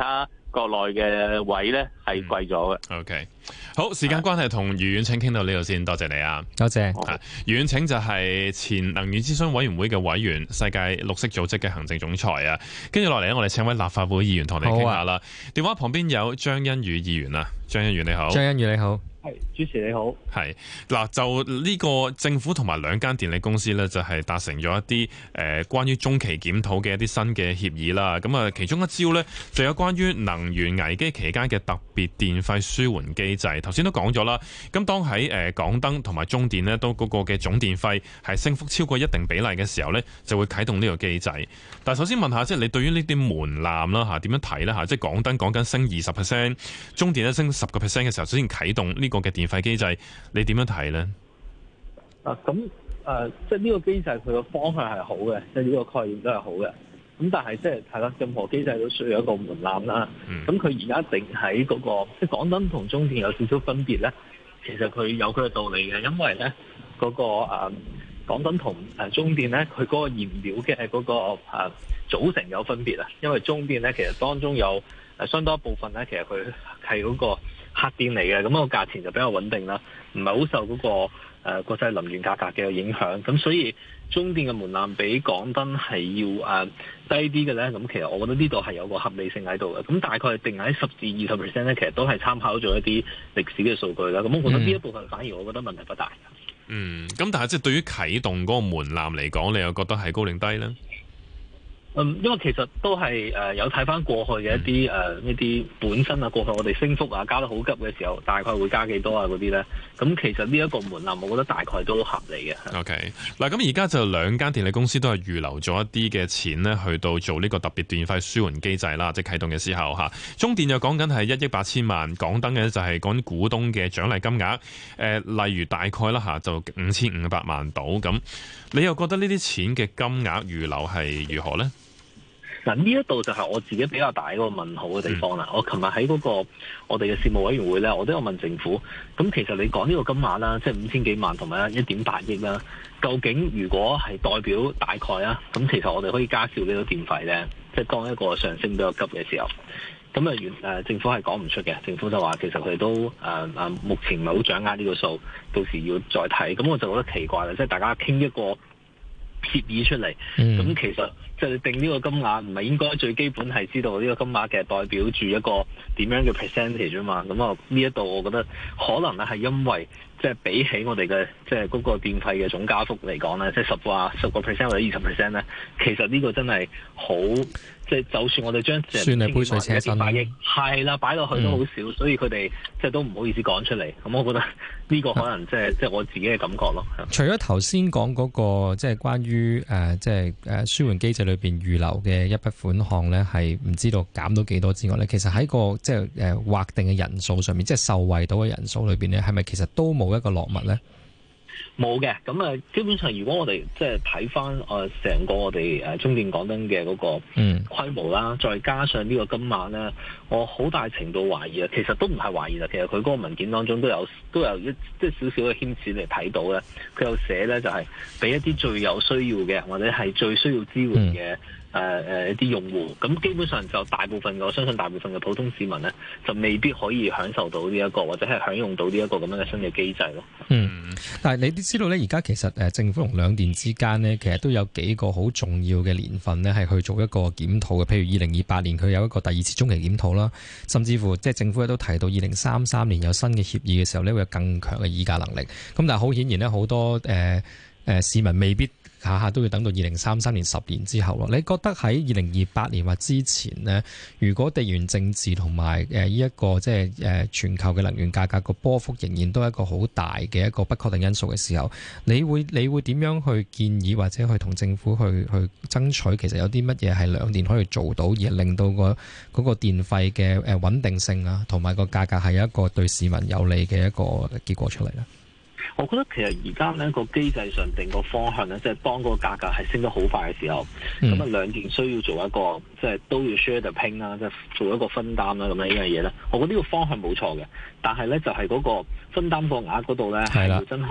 國內嘅位咧係貴咗嘅。 嗯、OK， 好，時間關係，同余遠騁傾到呢度先，多謝你啊， 多謝。 余遠騁就係前能源諮詢委員會嘅委員，世界綠色組織嘅行政總裁啊。跟住落嚟咧，我哋請位立法會議員同你傾下啦。電話旁邊有張欣宇議員啊，張欣宇你好。 張欣宇你好。 係，主持你好。 係嗱，就呢個政府同埋兩間電力公司呢，就係達成咗一啲誒、呃、關於中期檢討嘅一啲新嘅協議啦。咁啊，其中一招呢，就有關於能源危機期間嘅特別電費舒緩機制。頭先都講咗啦。咁當喺誒港燈同埋中電呢，都嗰個嘅總電費係升幅超過一定比例嘅時候呢，就會啟動呢個機制。但係首先問下，即係你對於呢啲門檻啦嚇點樣睇呢？嚇？即係港燈講緊升二十 percent， 中電咧升十個 percent 嘅時候，首先啟動呢個嘅電費機制，你點樣睇咧？ 啊，咁誒、呃，即係呢個機制佢個方向係好嘅，即係呢個概念都係好嘅。咁但係即係係啦，任何機制都需要一個門檻啦。咁佢而家定喺嗰個，即係港燈同中電有少少分別咧。其實佢有佢嘅道理嘅，因為咧嗰、嗰個誒、呃、港燈同誒中電咧，佢嗰個燃料嘅嗰、嗰個誒、呃、組成有分別啊。因為中電咧，其實當中有誒相當一部分咧，其實佢係嗰個黑電嚟嘅，咁、那個價錢就比較穩定啦，唔係好受嗰、那個誒、呃、國際能源價格嘅影響。咁所以中電嘅門檻比港燈係要誒、呃、低啲嘅咧。咁其實我覺得呢度係有個合理性喺度嘅。咁大概定喺十至二十 percent 咧，其實都係參考咗一啲歷史嘅數據啦。咁我覺得呢一部分反而我覺得問題不大。 嗯，咁但係即係對於啟動嗰個門檻嚟講，你又覺得係高定低咧？ 嗯，因為其實都係誒、呃、有睇翻過去嘅一啲誒呢啲本身啊，過去我哋升幅啊加得好急嘅時候，大概會加幾多啊嗰啲咧？咁其實呢一個門檻，我覺得大概都合理嘅。OK， 嗱咁而家就兩間電力公司都係預留咗一啲嘅錢呢，去到做呢個特別電費舒緩機制啦，即係啟動嘅時候嚇。中電就講緊係一億八千萬，港燈嘅就係講股東嘅獎勵金額，誒、呃、例如大概啦嚇就五千五百萬到咁。你又覺得呢啲錢嘅金額預留係如何呢？ 嗱，呢一度就係我自己比較大嗰個問號嘅地方啦。嗯、我琴日喺嗰個我哋嘅事務委員會咧，我都有問政府。咁其實你講呢個金額啦，即係五千幾萬同埋一點八億啦，究竟如果係代表大概啊，咁其實我哋可以加少幾多電費咧？即係當一個上升比較急嘅時候，咁啊原誒政府係講唔出嘅。政府就話其實佢哋都誒誒、呃、目前唔係好掌握呢個數，到時要再睇。咁我就覺得奇怪啦，即係大家傾一個協議出嚟，咁、嗯、其實即係定呢個金額，唔係應該最基本係知道呢個金額嘅代表住一個點樣嘅 percentage 啊嘛？咁啊呢一度我覺得可能咧係因為即係比起我哋嘅即係嗰個電費嘅總加幅嚟講咧，即係十話十個 percent 或者二十 percent 咧，其實呢個真係好。即係就算我哋將算係杯水車薪，係啦，擺落去都好少，嗯、所以佢哋即係都唔好意思講出嚟。咁我覺得呢個可能即係即係我自己嘅感覺咯。 除咗頭先講嗰個即係關於誒即係誒舒緩機制裏邊預留嘅一筆款項咧，係唔知道減到幾多之外咧，其實喺個即係誒劃定嘅人數上面，即係受惠到嘅人數裏邊咧，係咪其實都冇一個落墨咧？ 冇嘅，咁啊，基本上如果我哋即係睇翻誒成個我哋誒中電港燈嘅嗰個規模啦，嗯、再加上呢個金額咧，我好大程度懷疑啊，其實都唔係懷疑啦，其實佢嗰個文件當中都有都有一即係少少嘅牽涉嚟睇到咧，佢有寫咧就係俾一啲最有需要嘅或者係最需要支援嘅。嗯誒誒、呃、一啲用戶，咁基本上就大部分我相信大部分嘅普通市民咧，就未必可以享受到呢、這、一個或者係享用到呢一個咁樣嘅新嘅機制咯。嗯， 但係你都知道咧，而家其實誒政府同兩電之間呢，其實都有幾個好重要嘅年份呢，係去做一個檢討嘅。譬如二零二八年佢有一個第二次中期檢討啦，甚至乎即係政府都提到二零三三年有新嘅協議嘅時候呢，會有更強嘅議價能力。咁但係好顯然呢，好多誒誒、呃呃、市民未必下下都要等到二零三三年十年之後咯。你覺得喺二零二八年或之前呢，如果地緣政治同埋誒呢一個即係誒全球嘅能源價格個波幅仍然都係一個好大嘅一個不確定因素嘅時候，你會你會點樣去建議或者去同政府去去爭取？其實有啲乜嘢係兩電可以做到，而令到個嗰個電費嘅誒穩定性啊，同埋個價格係有一個對市民有利嘅一個結果出嚟咧？ 我覺得其實而家呢個機制上定個方向呢，即係當個價格係升得好快嘅時候，咁啊、嗯、兩電需要做一個即係都要 share the pain 啦，即係做一個分擔啦，咁樣呢樣嘢呢，我覺得呢個方向冇錯嘅，但係呢，就係嗰個分擔個額嗰度呢，係要真係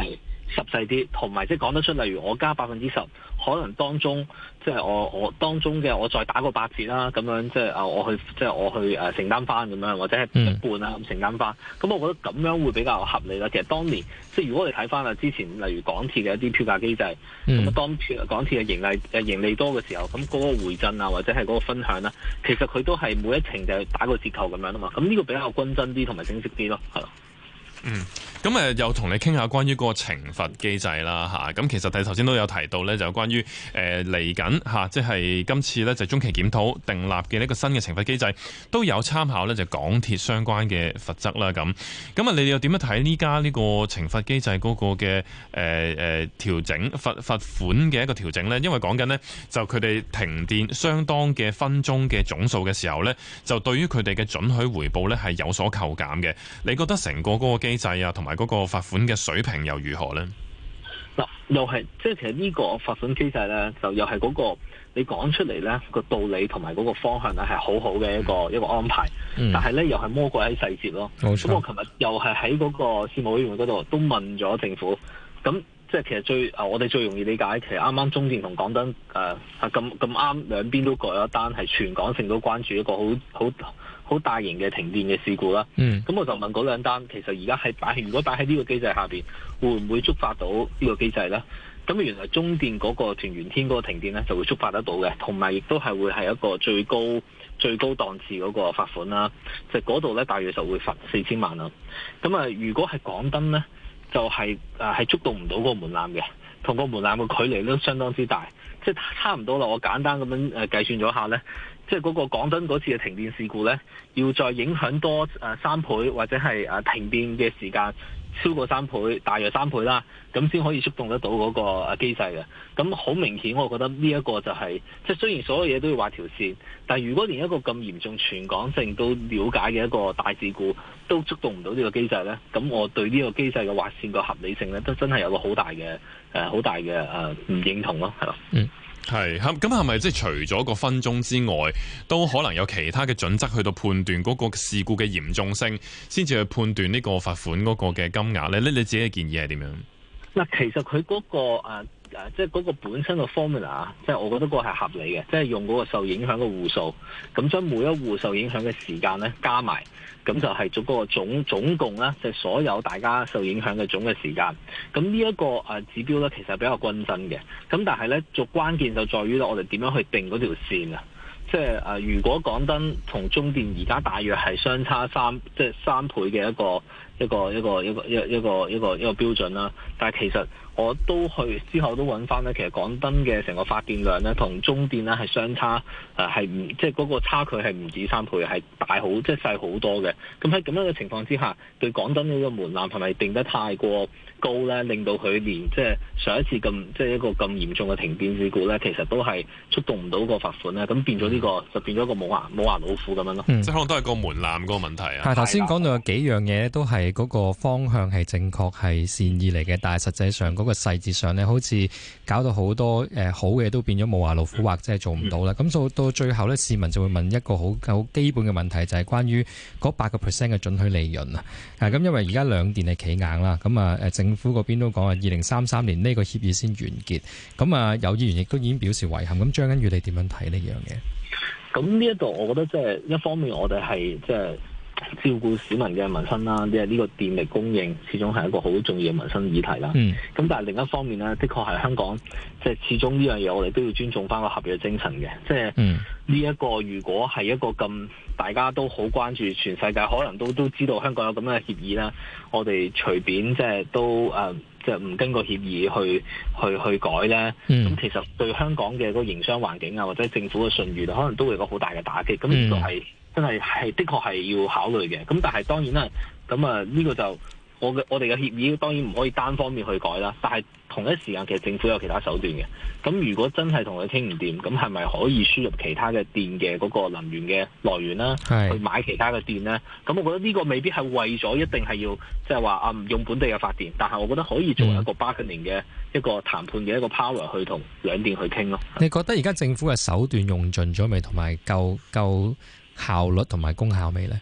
實際啲，同埋即係講得出，例如我加百分之十，可能當中即係我我當中嘅我再打個八折啦，咁樣即係啊我去即係我去誒承擔翻咁樣，或者係一半啦咁承擔翻。咁我覺得咁樣會比較合理啦。其實當年即係如果我哋睇翻啊，之前例如港鐵嘅一啲票價機制，咁、嗯、當港鐵嘅盈利誒盈利多嘅時候，咁嗰個回贈啊或者係嗰個分享啦，其實佢都係每一程就係打個折扣咁樣啊嘛。咁呢個比較均真啲同埋清晰啲咯，係咯。 嗯，咁誒又同你傾下關於嗰個懲罰機制啦嚇，咁其實你頭先都有提到咧，就關於誒嚟緊嚇，即係今次咧就中期檢討訂立嘅呢個新嘅懲罰機制，都有參考咧就港鐵相關嘅罰則啦咁。咁啊，你哋又點樣睇呢家呢個懲罰機制嗰個嘅誒誒調整罰罰款嘅一個調整咧？因為講緊呢，就佢哋停電相當嘅分鐘嘅總數嘅時候咧，就對於佢哋嘅準許回報咧係有所扣減嘅。你覺得成個嗰個機制啊，同埋嗰個罰款嘅水平又如何呢？ 嗱，又係即係其實呢個罰款機制咧，就又係嗰個你講出嚟咧個道理同埋嗰個方向咧係好好嘅一個、嗯、一個安排，嗯、但係咧又係魔鬼喺細節咯。咁我琴日又係喺嗰個事務委員會嗰度都問咗政府，咁即係其實最啊我哋最容易理解，其實啱啱中電同港燈誒咁咁啱兩邊都改咗單，係全港性都關注一個好好好大型嘅停電嘅事故啦，咁、嗯、我就問嗰兩單，其實而家係擺，如果擺喺呢個機制下邊，會唔會觸發到呢個機制呢？咁原來中電嗰個屯元天嗰個停電呢，就會觸發得到嘅，同埋亦都係會係一個最高最高檔次嗰個罰款啦，就嗰度呢，大約就會罰四千萬啦。咁啊，如果係港燈呢，就係誒係觸動唔到嗰個門檻嘅，同個門檻嘅距離都相當之大，即係差唔多啦。我簡單咁樣誒計算咗下呢。即係嗰個港燈嗰次嘅停電事故呢，要再影響多誒三倍或者係誒停電嘅時間超過三倍，大約三倍啦，咁先可以觸動得到嗰個誒機制嘅。咁好明顯，我覺得呢一個就係、是、即係雖然所有嘢都要畫條線，但係如果連一個咁嚴重、全港性都了解嘅一個大事故都觸動唔到呢個機制呢，咁我對呢個機制嘅劃線個合理性呢，都真係有個好大嘅誒好大嘅誒唔認同咯，係咯。嗯。 係，咁係咪即係除咗個分鐘之外，都可能有其他嘅準則去到判斷嗰個事故嘅嚴重性，先至去判斷呢個罰款嗰個嘅金額咧？你你自己嘅建議係點樣？ 嗱，其實佢嗰、嗰個誒誒，即係嗰個本身嘅 formula，即係我覺得嗰個係合理嘅，即係用嗰個受影響嘅戶數，咁將每一戶受影響嘅時間咧加埋。咁就係做嗰個總總共咧，就係、所有大家受影響嘅總嘅時間。咁呢一個誒指標咧，其實係比較均真嘅。咁但係咧，做關鍵就在於咧，我哋點樣去定嗰條線啊？即係誒，如果港燈同中電而家大約係相差三，即係三倍嘅一個一個一個一個一一個一個一個標準啦。但係其實我都去之後都揾翻咧，其實港燈嘅成個發電量咧，同中電咧係相差誒係唔即係嗰個差距係唔止三倍，係大好即係細好多嘅。咁喺咁樣嘅情況之下，對港燈呢個門檻係咪定得太過高咧，令到佢連即係上一次咁即係一個咁嚴重嘅停電事故咧，其實都係觸動唔到個罰款咧，咁變咗呢、這個就變咗個冇牙冇牙老虎咁樣咯。 嗯、即係可能都係個門檻嗰個問題啊。 係頭先講到有幾樣嘢都係嗰個方向係正確係善意嚟嘅，但係實際上嗰個細節上咧，好似搞到好多誒、呃、好嘅都變咗冇牙老虎，或者係做唔到啦。咁到、嗯、到最後咧，市民就會問一個好好基本嘅問題，就係、是、關於嗰八個 percent 嘅準許利潤啊。咁、嗯，因為而家兩電係企硬啦，咁啊誒政府嗰邊都講啊，二零三三年呢個協議先完結。咁啊，有議員亦都已經表示遺憾。咁張欣宇你點樣睇呢樣嘢？ 咁呢一度，我覺得即係一方面，我哋係即係照顧市民嘅民生啦，即係呢個電力供應始終係一個好重要嘅民生議題啦。咁、嗯、但係另一方面呢，的確係香港即係始終呢樣嘢，我哋都要尊重翻個合約精神嘅。即係呢一個，如果係一個咁大家都好關注，全世界可能都都知道香港有咁嘅協議啦，我哋隨便即係都誒。呃即係唔經過協議去去去改咧，咁、嗯、其實對香港嘅嗰個營商環境啊，或者政府嘅信譽，可能都會有個好大嘅打擊。咁呢個係真係係的確係要考慮嘅。咁但係當然啦，咁啊呢個就我嘅我哋嘅協議當然唔可以單方面去改啦。但係同一時間其實政府有其他手段嘅。咁如果真係同佢傾唔掂，咁係咪可以輸入其他嘅電嘅嗰個能源嘅來源啦？去買其他嘅電咧？咁我覺得呢個未必係為咗一定係要即係話啊唔用本地嘅發電，但係我覺得可以做一個 bargaining 嘅一個談判嘅一個 power 去同兩電去傾咯。 你覺得而家政府嘅手段用盡咗未？同埋夠夠效率同埋功效未咧？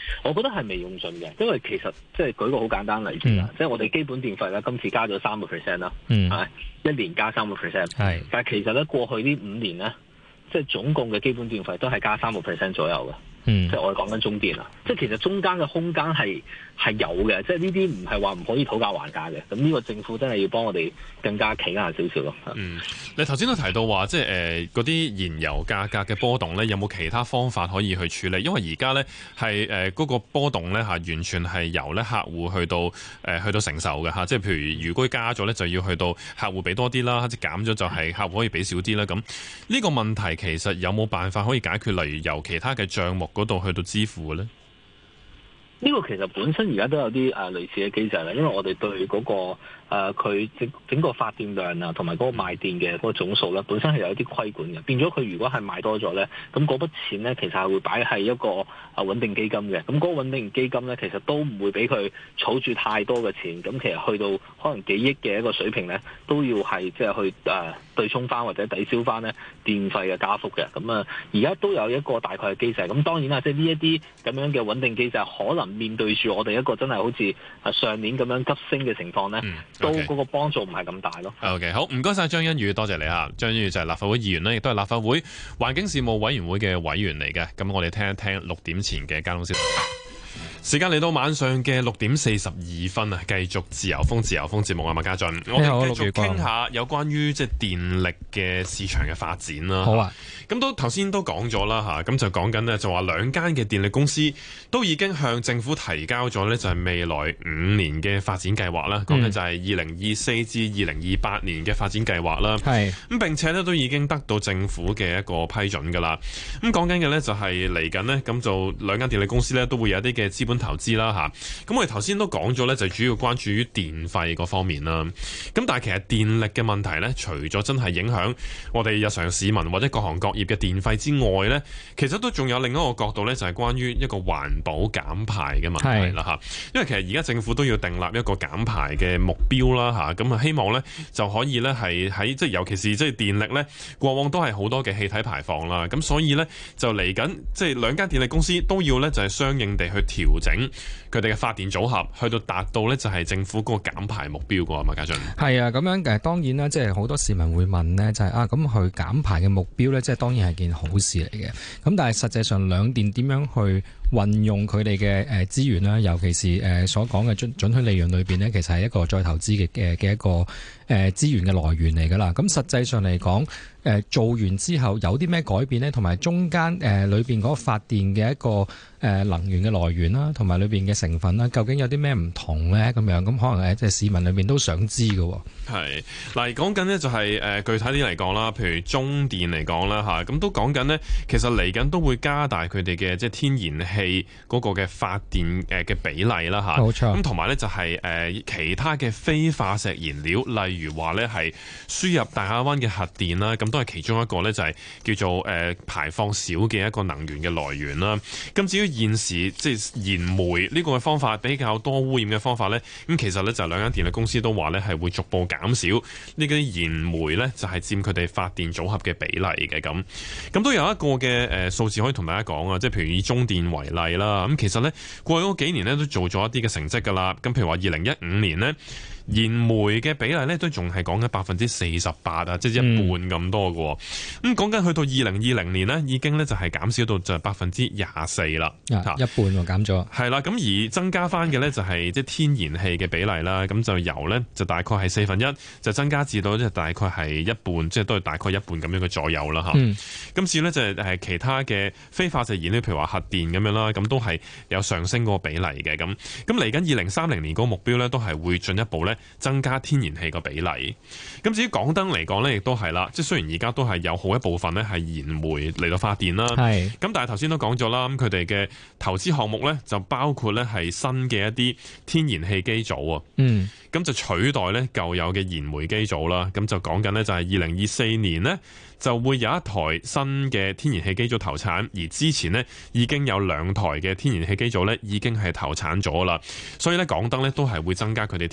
我覺得係未用盡嘅，因為其實即係舉個好簡單例子啦，嗯、即係我哋基本電費咧今次加咗三個 percent 啦，係、嗯、一年加三個 percent，係，但係其實咧過去呢五年咧，即係總共嘅基本電費都係加三個 percent 左右嘅。嗯，即係我哋講緊中電啦，即係其實中間嘅空間係係有嘅，即係呢啲唔係話唔可以討價還價嘅。咁呢個政府真係要幫我哋更加企硬少少咯。 嗯，你頭先都提到話，即係誒嗰啲燃油價格嘅波動咧，有冇其他方法可以去處理？因為而家咧係誒嗰個波動咧嚇，完全係由咧客戶去到誒、呃、去到承受嘅嚇。即係譬如如果加咗咧，就要去到客戶俾多啲啦；即係減咗就係客戶可以俾少啲啦。咁呢個問題其實有冇辦法可以解決？例如由其他嘅帳目嗰度去到支付嘅咧？ 呢個其實本身而家都有啲誒、呃、類似嘅機制啦，因為我哋對嗰、那個誒佢整整個發電量啊，同埋嗰個賣電嘅嗰個總數咧，本身係有一啲規管嘅。變咗佢如果係賣多咗咧，咁嗰筆錢咧其實係會擺喺一個誒穩定基金嘅。咁嗰個穩定基金咧，其實都唔會俾佢儲住太多嘅錢。咁其實去到可能幾億嘅一個水平咧，都要係即係去誒、呃、對沖翻或者抵消翻咧電費嘅加幅嘅。咁啊，而家都有一個大概嘅機制。咁當然啦，即係呢一啲咁樣嘅穩定機制，可能面對住我哋一個真係好似上年咁樣急升嘅情況咧。嗯都嗰個幫助唔係咁大咯。 OK， 好，唔該晒張欣宇，多謝你嚇。張欣宇就係立法會議員咧，亦都係立法會環境事務委員會嘅委員嚟嘅。咁我哋聽一聽六點前嘅交通消息。時間嚟到晚上嘅六點四十二分啊，繼續自由風自由風節目啊，麥家俊，我哋繼續傾下有關於即係電力嘅市場嘅發展啦。 好啊， 咁都頭先都講咗啦嚇，咁就講緊呢，就話兩間嘅電力公司都已經向政府提交咗呢，就係未來五年嘅發展計劃啦。講緊就係二零二四至二零二八年嘅發展計劃啦。係咁並且呢，都已經得到政府嘅一個批准㗎啦。咁講緊嘅呢，就係嚟緊呢，咁就兩間電力公司呢，都會有一啲嘅資本投資啦吓，咁我哋頭先都講咗咧，就主要關注於電費嗰方面啦。咁但係其實電力嘅問題咧，除咗真係影響我哋日常市民或者各行各業嘅電費之外咧，其實都仲有另一個角度咧，就係關於一個環保減排嘅問題啦吓。因為其實而家政府都要訂立一個減排嘅目標啦吓，咁啊希望咧就可以咧係喺即係尤其是即係電力咧，過往都係好多嘅氣體排放啦，咁所以咧就嚟緊即係兩間電力公司都要咧就係相應地去調整佢哋嘅發電組合，去到達到呢就係政府嗰個減排目標㗎嘛，家俊。 係啊，咁樣誒當然啦，即係好多市民會問呢，就係、是、啊咁去減排嘅目標呢，即係當然係件好事嚟嘅。咁但係實際上兩電點樣去運用佢哋嘅誒資源啦，尤其是誒所講嘅準準許利潤裏邊呢，其實係一個再投資嘅嘅嘅一個誒資源嘅來源嚟㗎啦。咁實際上嚟講，誒做完之後有啲咩改變呢？同埋中間誒裏邊嗰個發電嘅一個誒能源嘅來源啦，同埋裏邊嘅成分啦，究竟有啲咩唔同咧？咁樣咁可能誒即係市民裏邊都想知嘅。 係嗱，講緊呢就係誒具體啲嚟講啦，譬如中電嚟講啦嚇，咁都講緊呢，其實嚟緊都會加大佢哋嘅即係天然氣嗰個嘅發電誒嘅比例啦嚇。冇錯。咁同埋咧就係誒其他嘅非化石燃料，例如話咧係輸入大亞灣嘅核電啦，咁都係其中一個咧就係叫做誒排放少嘅一個能源嘅來源啦。咁至於現時即係燃煤呢個嘅方法比較多污染嘅方法咧，咁其實咧就兩間電力公司都話咧係會逐步減少呢啲燃煤咧，就係佔佢哋發電組合嘅比例嘅咁。咁都有一個嘅誒數字可以同大家講啊，即係譬如以中電為例啦。咁其實咧過去嗰幾年咧都做咗一啲嘅成績㗎啦。咁譬如話二零一五年咧，燃煤嘅比例咧都仲係講緊百分之四十八啊，即係一半咁多嘅。咁講緊去到二零二零年呢，已經咧就係減少到就係百分之廿四啦，一半喎減咗。 係啦，咁而增加翻嘅咧就係即係天然氣嘅比例啦。咁就由咧就大概係四分一，就增加至到即係大概係一半，即係都係大概一半咁樣嘅左右啦嚇。嗯、今次咧就係誒其他嘅非化石燃料，譬如話核電咁樣啦，咁都係有上升嗰個比例嘅。咁咁嚟緊二零三零年嗰個目標咧，都係會進一步咧增加天然氣個比例。咁至於港燈嚟講咧，亦都係啦，即係雖然而家都係有好一部分咧係燃煤嚟到發電啦，係咁，但係頭先都講咗啦，咁佢哋嘅投資項目咧就包括咧係新嘅一啲天然氣機組啊，嗯，咁就取代咧舊有嘅燃煤機組啦。咁就講緊咧就係二零二四年呢，就會有一台新嘅天然氣機組投產，而之前呢，已經有兩台嘅天然氣機組咧已經係投產咗啦。所以咧港燈咧都係會增加佢哋天然氣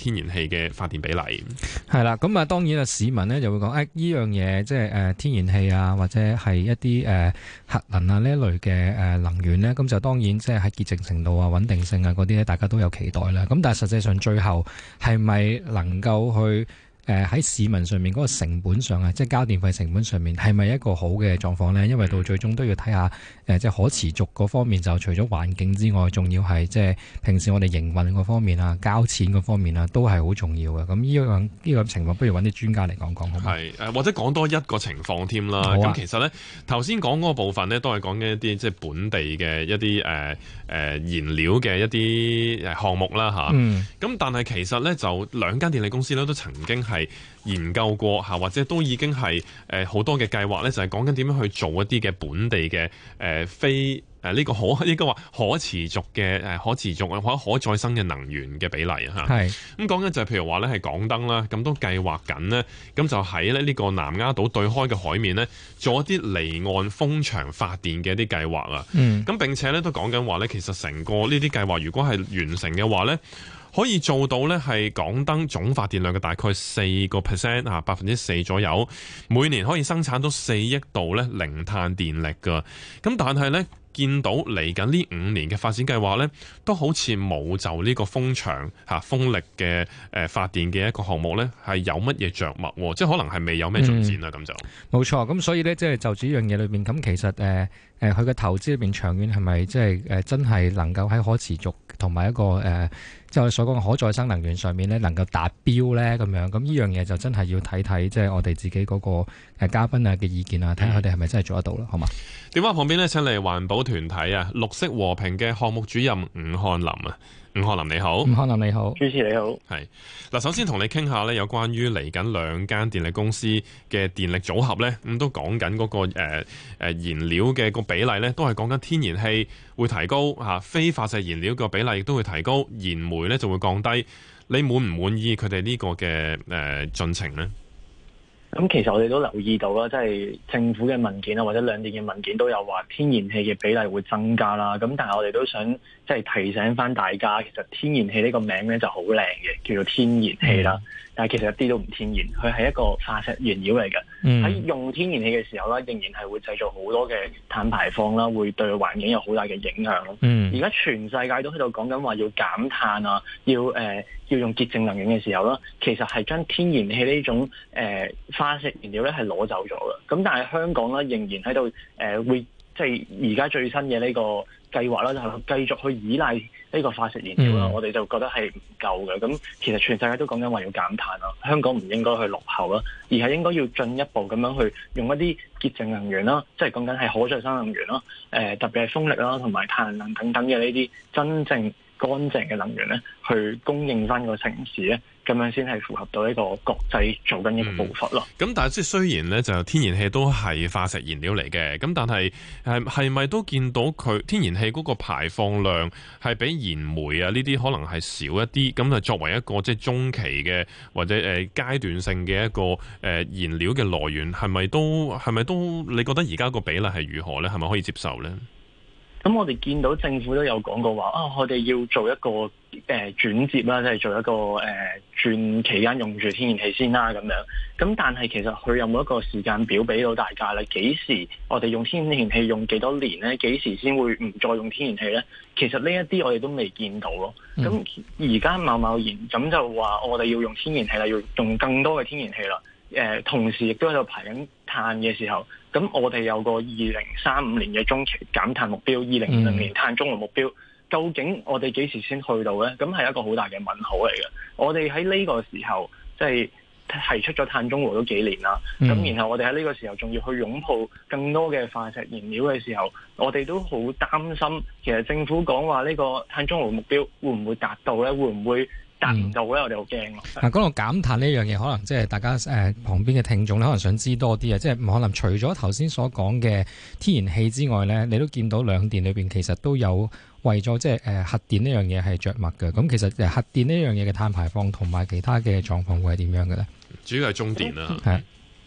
嘅發電比例。 係啦，咁啊當然啊市民呢就會講誒呢樣嘢即係誒天然氣啊，或者係一啲誒、呃、核能啊呢一類嘅誒能源呢，咁就當然即係喺潔淨程度啊、穩定性啊嗰啲咧，大家都有期待啦。咁但係實際上最後係咪能夠去誒喺、呃、市民上面嗰個成本上啊，即係交電費成本上面係咪一個好嘅狀況呢？因為到最終都要睇下誒、呃，即係可持續嗰方面，就除咗環境之外，仲要係即係平時我哋營運嗰方面啊、交錢嗰方面啊，都係好重要嘅。咁呢樣呢個情況，不如揾啲專家嚟講講好唔好？ 係誒，或者講多一個情況添啦。咁、啊、其實呢，頭先講嗰個部分呢，都係講緊一啲即係本地嘅一啲誒誒燃料嘅一啲誒項目啦嚇。咁、嗯、但係其實呢，就兩間電力公司呢，都曾經係研究過嚇，或者都已經係誒好多嘅計劃咧，就係講緊點樣去做一啲嘅本地嘅誒、呃、非誒呢、呃這個可應該話可持續嘅誒、呃、可持續或者可再生嘅能源嘅比例嚇。係咁講緊就係譬如話咧係港燈啦，咁都計劃緊呢，咁就喺咧呢個南丫島對開嘅海面呢，做一啲離岸風場發電嘅一啲計劃啊。嗯，咁並且咧都講緊話咧，其實成個呢啲計劃如果係完成嘅話咧，可以做到呢係港燈總發電量嘅大概四個 percent 啊，百分之四左右，每年可以生產到四億度呢零碳電力㗎。咁但係呢，見到嚟緊呢五年嘅發展計劃呢，都好似冇就呢個風場嚇風力嘅誒發電嘅一個項目呢，係有乜嘢着墨，即係可能係未有咩進展啦。咁、嗯、就冇錯。咁所以呢，即係就住呢樣嘢裏邊，咁其實誒誒佢嘅投資裏邊長遠係咪即係誒真係能夠喺可持續同埋一個誒即係我所講嘅可再生能源上面呢，能夠達標呢？咁樣？咁呢樣嘢就真係要睇睇即係我哋自己嗰個誒嘉賓啊嘅意見啊，睇下佢哋係咪真係做得到啦？好嘛？ 電話旁邊呢，請嚟環保團體啊綠色和平嘅項目主任伍漢霖啊。伍漢霖你好。 伍漢霖你好。 主持你好。 係嗱，首先同你傾下呢，有關於嚟緊兩間電力公司嘅電力組合呢，咁都講緊嗰個誒誒燃料嘅個比例呢，都係講緊天然氣會提高嚇，非化石燃料個比例亦都會提高，燃煤呢就會降低。你滿唔滿意佢哋呢個嘅誒進程呢？ 咁其實我哋都留意到啦，即係政府嘅文件啊，或者兩電嘅文件都有話天然氣嘅比例會增加啦。咁但係我哋都想即係提醒翻大家，其實天然氣呢個名咧就好靚嘅，叫做天然氣啦。但係其實一啲都唔天然，佢係一個化石原料嚟嘅。喺、嗯、用天然氣嘅時候咧，仍然係會製造好多嘅碳排放啦，會對環境有好大嘅影響咯。而家、嗯、全世界都喺度講緊話要減碳啊，要誒、呃、要用潔淨能源嘅時候啦，其實係將天然氣呢種誒、呃、化石燃料咧係攞走咗嘅。咁但係香港咧仍然喺度誒會即係而家最新嘅呢個計劃啦，就係繼續去依賴呢個化石燃料啦。嗯、我哋就覺得係唔夠嘅。咁其實全世界都講緊話要減碳啦，香港唔應該去落後啦，而係應該要進一步咁樣去用一啲潔淨能源啦，即係講緊係可再生能源啦，誒、呃、特別係風力啦，同埋太陽能等等嘅呢啲真正乾淨嘅能源咧，去供應翻個城市咧，咁樣先係符合到呢個國際做緊一個步伐咯。咁、 嗯、但係即係雖然咧，就天然氣都係化石燃料嚟嘅，咁但係係係咪都見到佢天然氣嗰個排放量係比燃煤啊呢啲可能係少一啲？咁啊作為一個即係中期嘅或者誒階段性嘅一個誒燃料嘅來源，係咪都係咪都？你覺得而家個比例係如何咧？係咪可以接受咧？ 咁我哋見到政府都有講過話啊，我哋要做一個誒、呃、轉接啦，即係做一個誒、呃、轉期間用住天然氣先啦咁樣。咁但係其實佢有冇一個時間表俾到大家咧？幾時我哋用天然氣用幾多年咧？幾時先會唔再用天然氣咧？其實呢一啲我哋都未見到咯。咁而家貿貿然咁就話我哋要用天然氣啦，要用更多嘅天然氣啦。誒、呃，同時亦都喺度排緊碳嘅時候，咁我哋有個二零三五年嘅中期減碳目標，二零二零年碳中和目標，究竟我哋幾時先去到呢？咁係一個好大嘅問號嚟嘅。我哋喺呢個時候即係提出咗碳中和都幾年啦，咁、嗯、然後我哋喺呢個時候仲要去擁抱更多嘅化石燃料嘅時候，我哋都好擔心，其實政府講話呢個碳中和目標會唔會達到呢？會唔會達唔到咧？我哋好驚咯。 嗱，講到減碳呢樣嘢，可能即係大家誒、呃、旁邊嘅聽眾咧，可能想知多啲啊。即係可能除咗頭先所講嘅天然氣之外咧，你都見到兩電裏邊其實都有為咗即係誒核電呢樣嘢係着墨嘅。咁其實誒核電呢樣嘢嘅碳排放同埋其他嘅狀況會係點樣嘅咧？ 主要係中電啦。 係。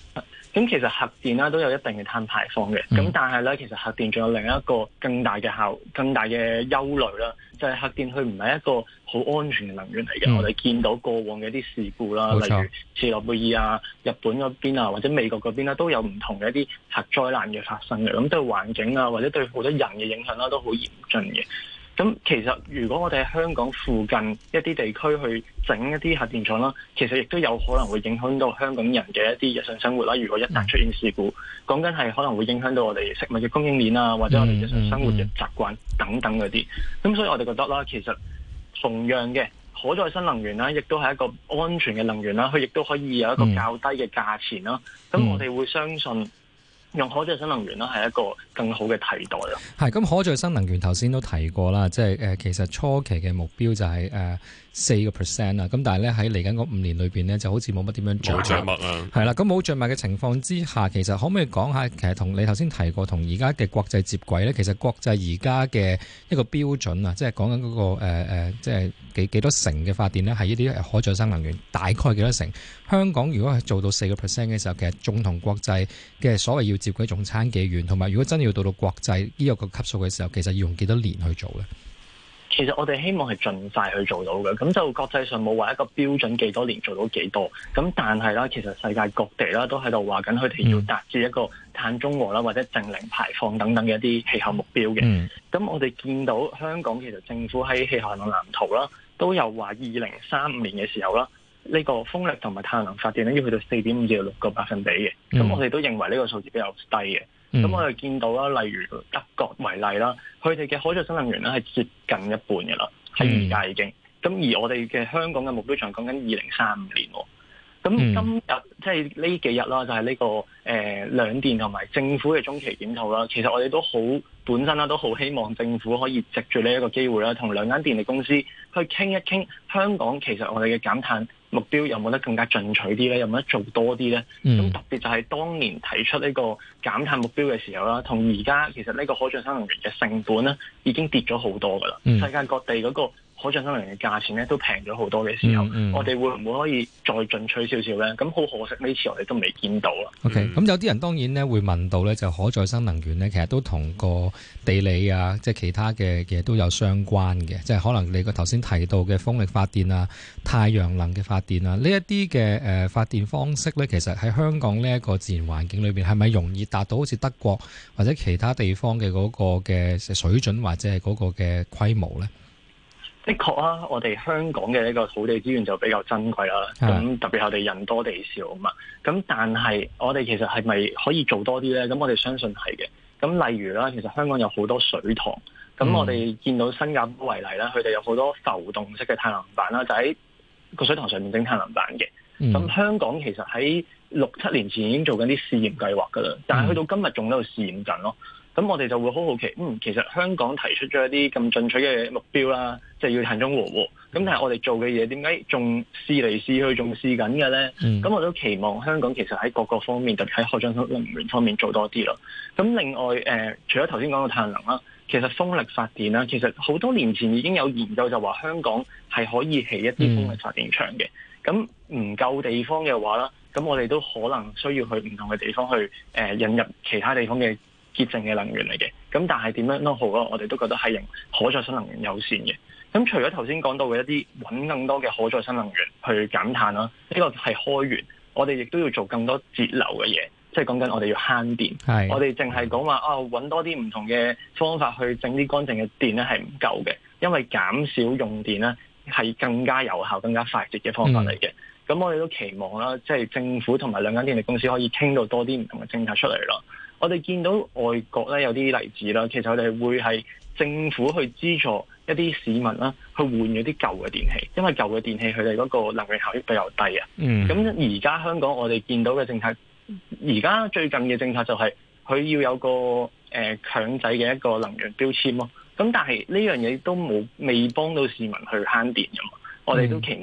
咁其實核電啦都有一定嘅碳排放嘅，咁、嗯、但係咧其實核電仲有另一個更大嘅效、更大嘅憂慮啦，就係、是、核電佢唔係一個好安全嘅能源嚟嘅。嗯、我哋見到過往嘅一啲事故啦，例如切諾貝爾啊、日本嗰邊啊或者美國嗰邊啦，都有唔同嘅一啲核災難嘅發生嘅，咁對環境啊或者對好多人嘅影響啦都好嚴峻嘅。咁其實如果我哋喺香港附近一啲地區去整一啲核電廠啦，其實亦都有可能會影響到香港人嘅一啲日常生活啦。如果一旦出現事故，講緊係可能會影響到我哋食物嘅供應鏈啊，或者我哋日常生活嘅習慣等等嗰啲。咁所以我哋覺得啦，其實同樣嘅可再生能源啦，亦都係一個安全嘅能源啦，佢亦都可以有一個較低嘅價錢啦。咁我哋會相信用可再生能源啦，係一個更好嘅替代咯。 係咁，可再生能源頭先都提過啦，即係誒，其實初期嘅目標就係誒四個 percent 啦。咁但係咧喺嚟緊嗰五年裏邊咧，就好似冇乜點樣做。 冇著墨啊！係啦，咁冇著墨嘅情況之下，其實可唔可以講下，其實同你頭先提過，同而家嘅國際接軌咧？其實國際而家嘅一個標準啊，即係講緊嗰個誒、呃、即係幾幾多成嘅發電咧，係呢啲可再生能源，大概幾多成？香港如果係做到四個 percent 嘅時候，其實仲同國際嘅所謂要接軌仲差幾遠，同埋如果真係要到到國際呢個個級數嘅時候，其實要用幾多年去做咧？ 其實我哋希望係盡快去做到嘅，咁就國際上冇話一個標準幾多年做到幾多，咁但係啦，其實世界各地啦都喺度話緊佢哋要達至一個碳中和啦或者淨零排放等等嘅一啲氣候目標嘅。咁、嗯、我哋見到香港其實政府喺氣候行動藍圖啦都有話二零三五年嘅時候啦，呢、這個風力同埋太陽能發電咧要去到四點五至到六個百分比嘅，咁、嗯、我哋都認為呢個數字比較低嘅。咁、嗯、我哋見到啦，例如德國為例啦，佢哋嘅可再生能源咧係接近一半嘅啦，喺而家已經。咁、嗯、而我哋嘅香港嘅目標仲講緊二零三五年。咁今日、嗯、即係呢幾日啦，就係、是、呢、這個誒、呃、兩電同埋政府嘅中期檢討啦。其實我哋都好本身啦，都好希望政府可以藉住呢一個機會啦，同兩間電力公司去傾一傾香港其實我哋嘅減碳目標有冇得更加進取啲咧？有冇得做多啲咧？咁、嗯、特別就係當年提出呢個減碳目標嘅時候啦，同而家其實呢個可再生能源嘅成本咧已經跌咗好多噶啦。嗯、世界各地嗰個可再生能源嘅價錢咧都平咗好多嘅時候，嗯嗯、我哋會唔會可以再進取少少咧？咁好可惜呢次我哋都未見到啦。 OK，咁、嗯、有啲人當然咧會問到咧，就可再生能源咧，其實都同個地理啊，即係其他嘅嘢都有相關嘅，即係可能你個頭先提到嘅風力發電啊、太陽能嘅發電啊，呢一啲嘅誒發電方式咧，其實喺香港呢一個自然環境裏邊，係咪容易達到好似德國或者其他地方嘅嗰個嘅水準或者係嗰個嘅規模咧？ 的確啊，我哋香港嘅呢個土地資源就比較珍貴啦。咁特別係我哋人多地少啊嘛。咁但係我哋其實係咪可以做多啲咧？咁我哋相信係嘅。咁例如啦，其實香港有好多水塘。咁我哋見到新加坡為例啦，佢哋有好多浮動式嘅太陽能板啦，就喺個水塘上面整太陽能板嘅。咁、嗯、香港其實喺六七年前已經做緊啲試驗計劃噶啦，但係去到今日仲喺度試驗緊咯。咁我哋就會好好奇，嗯，其實香港提出咗一啲咁進取嘅目標啦，即係要碳中和喎。咁但係我哋做嘅嘢點解仲試嚟試去仲試緊嘅咧？咁、嗯、我都期望香港其實喺各個方面，特別喺可再生能源方面做多啲咯。咁另外誒、呃，除咗頭先講到太陽能啦，其實風力發電啦，其實好多年前已經有研究就話香港係可以起一啲風力發電場嘅。咁唔、嗯、夠地方嘅話啦，咁我哋都可能需要去唔同嘅地方去誒、呃、引入其他地方嘅潔淨嘅能源嚟嘅。咁但係點樣都好咯，我哋都覺得係用可再生能源優先嘅。咁除咗頭先講到嘅一啲揾更多嘅可再生能源去減碳啦，呢、這個係開源，我哋亦都要做更多節流嘅嘢，即係講緊我哋要慳電。係我哋淨係講話啊，揾多啲唔同嘅方法去整啲乾淨嘅電咧係唔夠嘅，因為減少用電咧係更加有效、更加快捷嘅方法嚟嘅。咁、嗯、我哋都期望啦，即係政府同埋兩間電力公司可以傾到多啲唔同嘅政策出嚟咯。我哋見到外國咧有啲例子啦，其實我哋會係政府去資助一啲市民啦，去換咗啲舊嘅電器，因為舊嘅電器佢哋嗰個能源效益比較低啊。嗯。咁而家香港我哋見到嘅政策，而家最近嘅政策就係佢要有個誒、呃、強制嘅一個能源標籤咯。咁但係呢樣嘢都冇未幫到市民去慳電㗎嘛。我哋都期望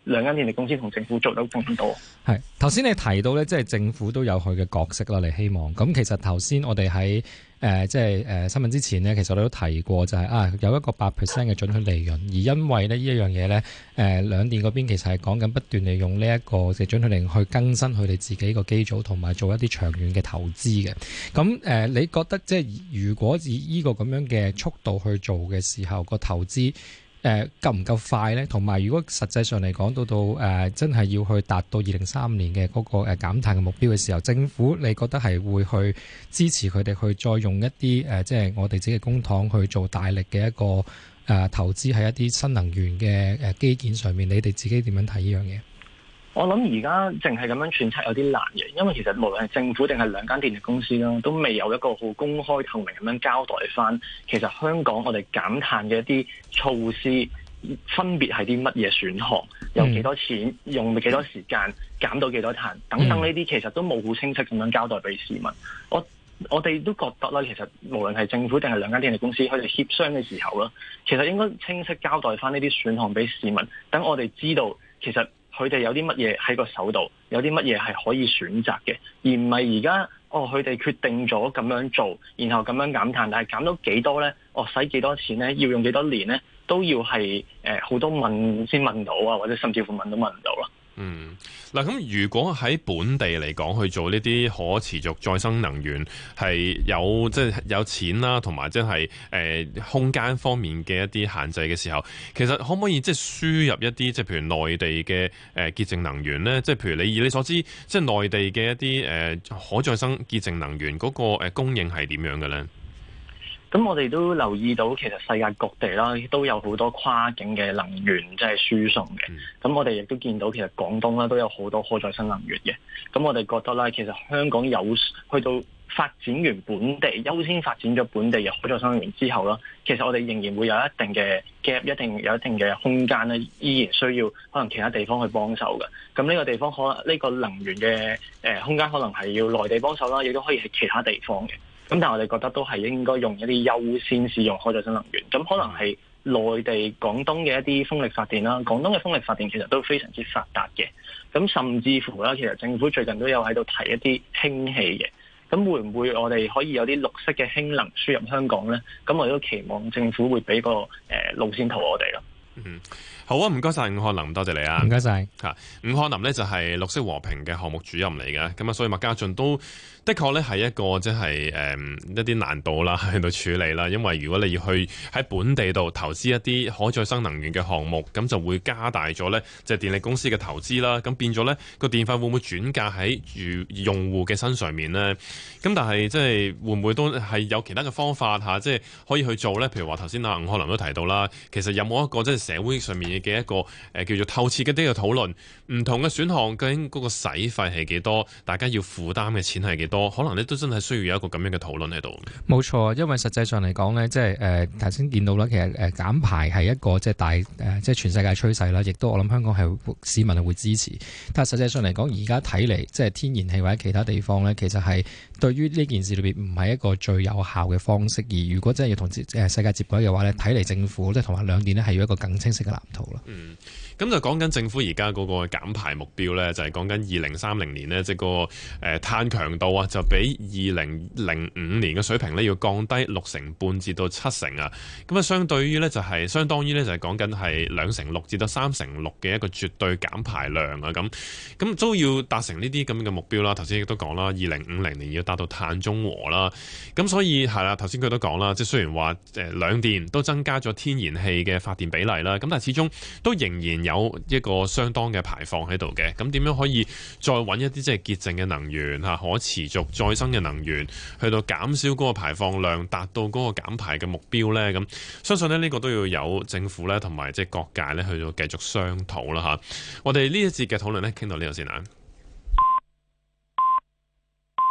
兩間電力公司同政府做到更多。 係頭先你提到咧，即係政府都有佢嘅角色啦，你希望咁。其實頭先我哋喺誒即係誒新聞之前呢，其實我哋都提過就係、是、啊有一個八 percent 嘅準許利潤，而因為呢呢一樣嘢咧，誒兩電嗰邊其實係講緊不斷利用呢一個嘅準許利潤去更新佢哋自己個機組同埋做一啲長遠嘅投資嘅。咁誒，你覺得即係如果以呢個咁樣嘅速度去做嘅時候，個投資誒夠唔夠快呢？同埋如果實際上嚟講到到誒、呃、真係要去達到二零三五年嘅嗰個誒減碳嘅目標嘅時候，政府你覺得係會去支持佢哋去再用一啲誒、呃、即係我哋自己嘅公帑去做大力嘅一個誒、呃、投資喺一啲新能源嘅誒基建上面？你哋自己點樣睇呢樣嘢？ 我諗而家淨係咁樣揣測有啲難嘅，因為其實無論係政府定係兩間電力公司啦，都未有一個好公開透明咁樣交代翻，其實香港我哋減碳嘅一啲措施分別係啲乜嘢選項，有幾多錢，用幾多時間，減到幾多碳等等，呢啲其實都冇好清晰咁樣交代俾市民。我我哋都覺得啦，其實無論係政府定係兩間電力公司，佢哋協商嘅時候啦，其實應該清晰交代翻呢啲選項俾市民，等我哋知道其實佢哋有啲乜嘢喺個手度，有啲乜嘢係可以選擇嘅，而唔係而家哦佢哋決定咗咁樣做，然後咁樣減碳，但係減到幾多呢？哦使幾多錢呢？要用幾多年呢？都要係誒好多問先問到啊，或者甚至乎問都問唔到啦。 嗯，嗱咁如果喺本地嚟講去做呢啲可持續再生能源，係有即係、就是、有錢啦，同埋即係誒空間方面嘅一啲限制嘅時候，其實可唔可以即係輸入一啲即係譬如內地嘅誒潔淨能源咧？即係譬如你以你所知，即係內地嘅一啲誒可再生潔淨能源嗰個誒供應係點樣嘅咧？ 咁我哋都留意到，其實世界各地啦都有好多跨境嘅能源即係輸送嘅。咁、嗯、我哋亦都見到，其實廣東啦都有好多可再生能源嘅。咁我哋覺得咧，其實香港有去到發展完本地優先發展咗本地嘅可再生能源之後啦，其實我哋仍然會有一定嘅 gap， 一定有一定嘅空間咧，依然需要可能其他地方去幫手嘅。咁呢個地方可能呢、呢個能源嘅誒空間可能係要內地幫手啦，亦都可以係其他地方嘅。咁但係我哋覺得都係應該用一啲優先使用可再生能源，咁可能係內地廣東嘅一啲風力發電啦，廣東嘅風力發電其實都非常之發達嘅，咁甚至乎啦，其實政府最近都有喺度提一啲氫氣嘅，咁會唔會我哋可以有啲綠色嘅氫能輸入香港呢？咁我哋都期望政府會俾個誒路線圖我哋咯。 嗯，好啊，唔該晒伍漢霖，多謝你啊， 唔該晒。 吓，伍漢霖呢就係綠色和平嘅項目主任嚟嘅，咁啊，所以麥家俊都的確咧係一個即係誒一啲難度啦，喺度處理啦，因為如果你要去喺本地度投資一啲可再生能源嘅項目，咁就會加大咗咧即係電力公司嘅投資啦，咁變咗咧個電費會唔會轉嫁喺住用戶嘅身上面呢？咁但係即係會唔會都係有其他嘅方法吓，即係可以去做咧？譬如話頭先啊伍漢霖都提到啦，其實有冇一個即係社會上面嘅一個誒叫做透徹嘅啲嘅討論，唔同嘅選項究竟嗰個使費係幾多，大家要負擔嘅錢係幾多，可能咧都真係需要有一個咁樣嘅討論喺度。 冇錯，因為實際上嚟講咧，即係誒頭先見到啦，其實誒減排係一個即係大誒即係全世界趨勢啦，亦都我諗香港係市民係會支持。但係實際上嚟講，而家睇嚟即係天然氣或者其他地方咧，其實係對於呢件事裏邊唔係一個最有效嘅方式。而如果真係要同誒世界接軌嘅話咧，睇嚟政府即係同埋兩電咧係要一個更清晰嘅藍圖咯。 嗯，咁就講緊政府而家嗰個減排目標咧，就係講緊二零三零年呢，即係個誒碳強度啊，就比二零零五年嘅水平咧要降低六成半至到七成啊。咁啊，相對於咧就係相當於咧就係講緊係兩成六至到三成六嘅一個絕對減排量啊。咁咁都要達成呢啲咁嘅目標啦。頭先亦都講啦，二零五零年要達到碳中和啦。咁所以係啦，頭先佢都講啦，即係雖然話誒兩電都增加咗天然氣嘅發電比例啦，咁但係始終都仍然有一個相當嘅排放喺度嘅。咁點樣可以再揾一啲即係潔淨嘅能源嚇，可持續再生嘅能源，去到減少嗰個排放量，達到嗰個減排嘅目標呢？咁相信咧呢個都要有政府咧同埋即係各界咧去到繼續商討啦嚇。我哋呢一節嘅討論咧傾到呢度先啊。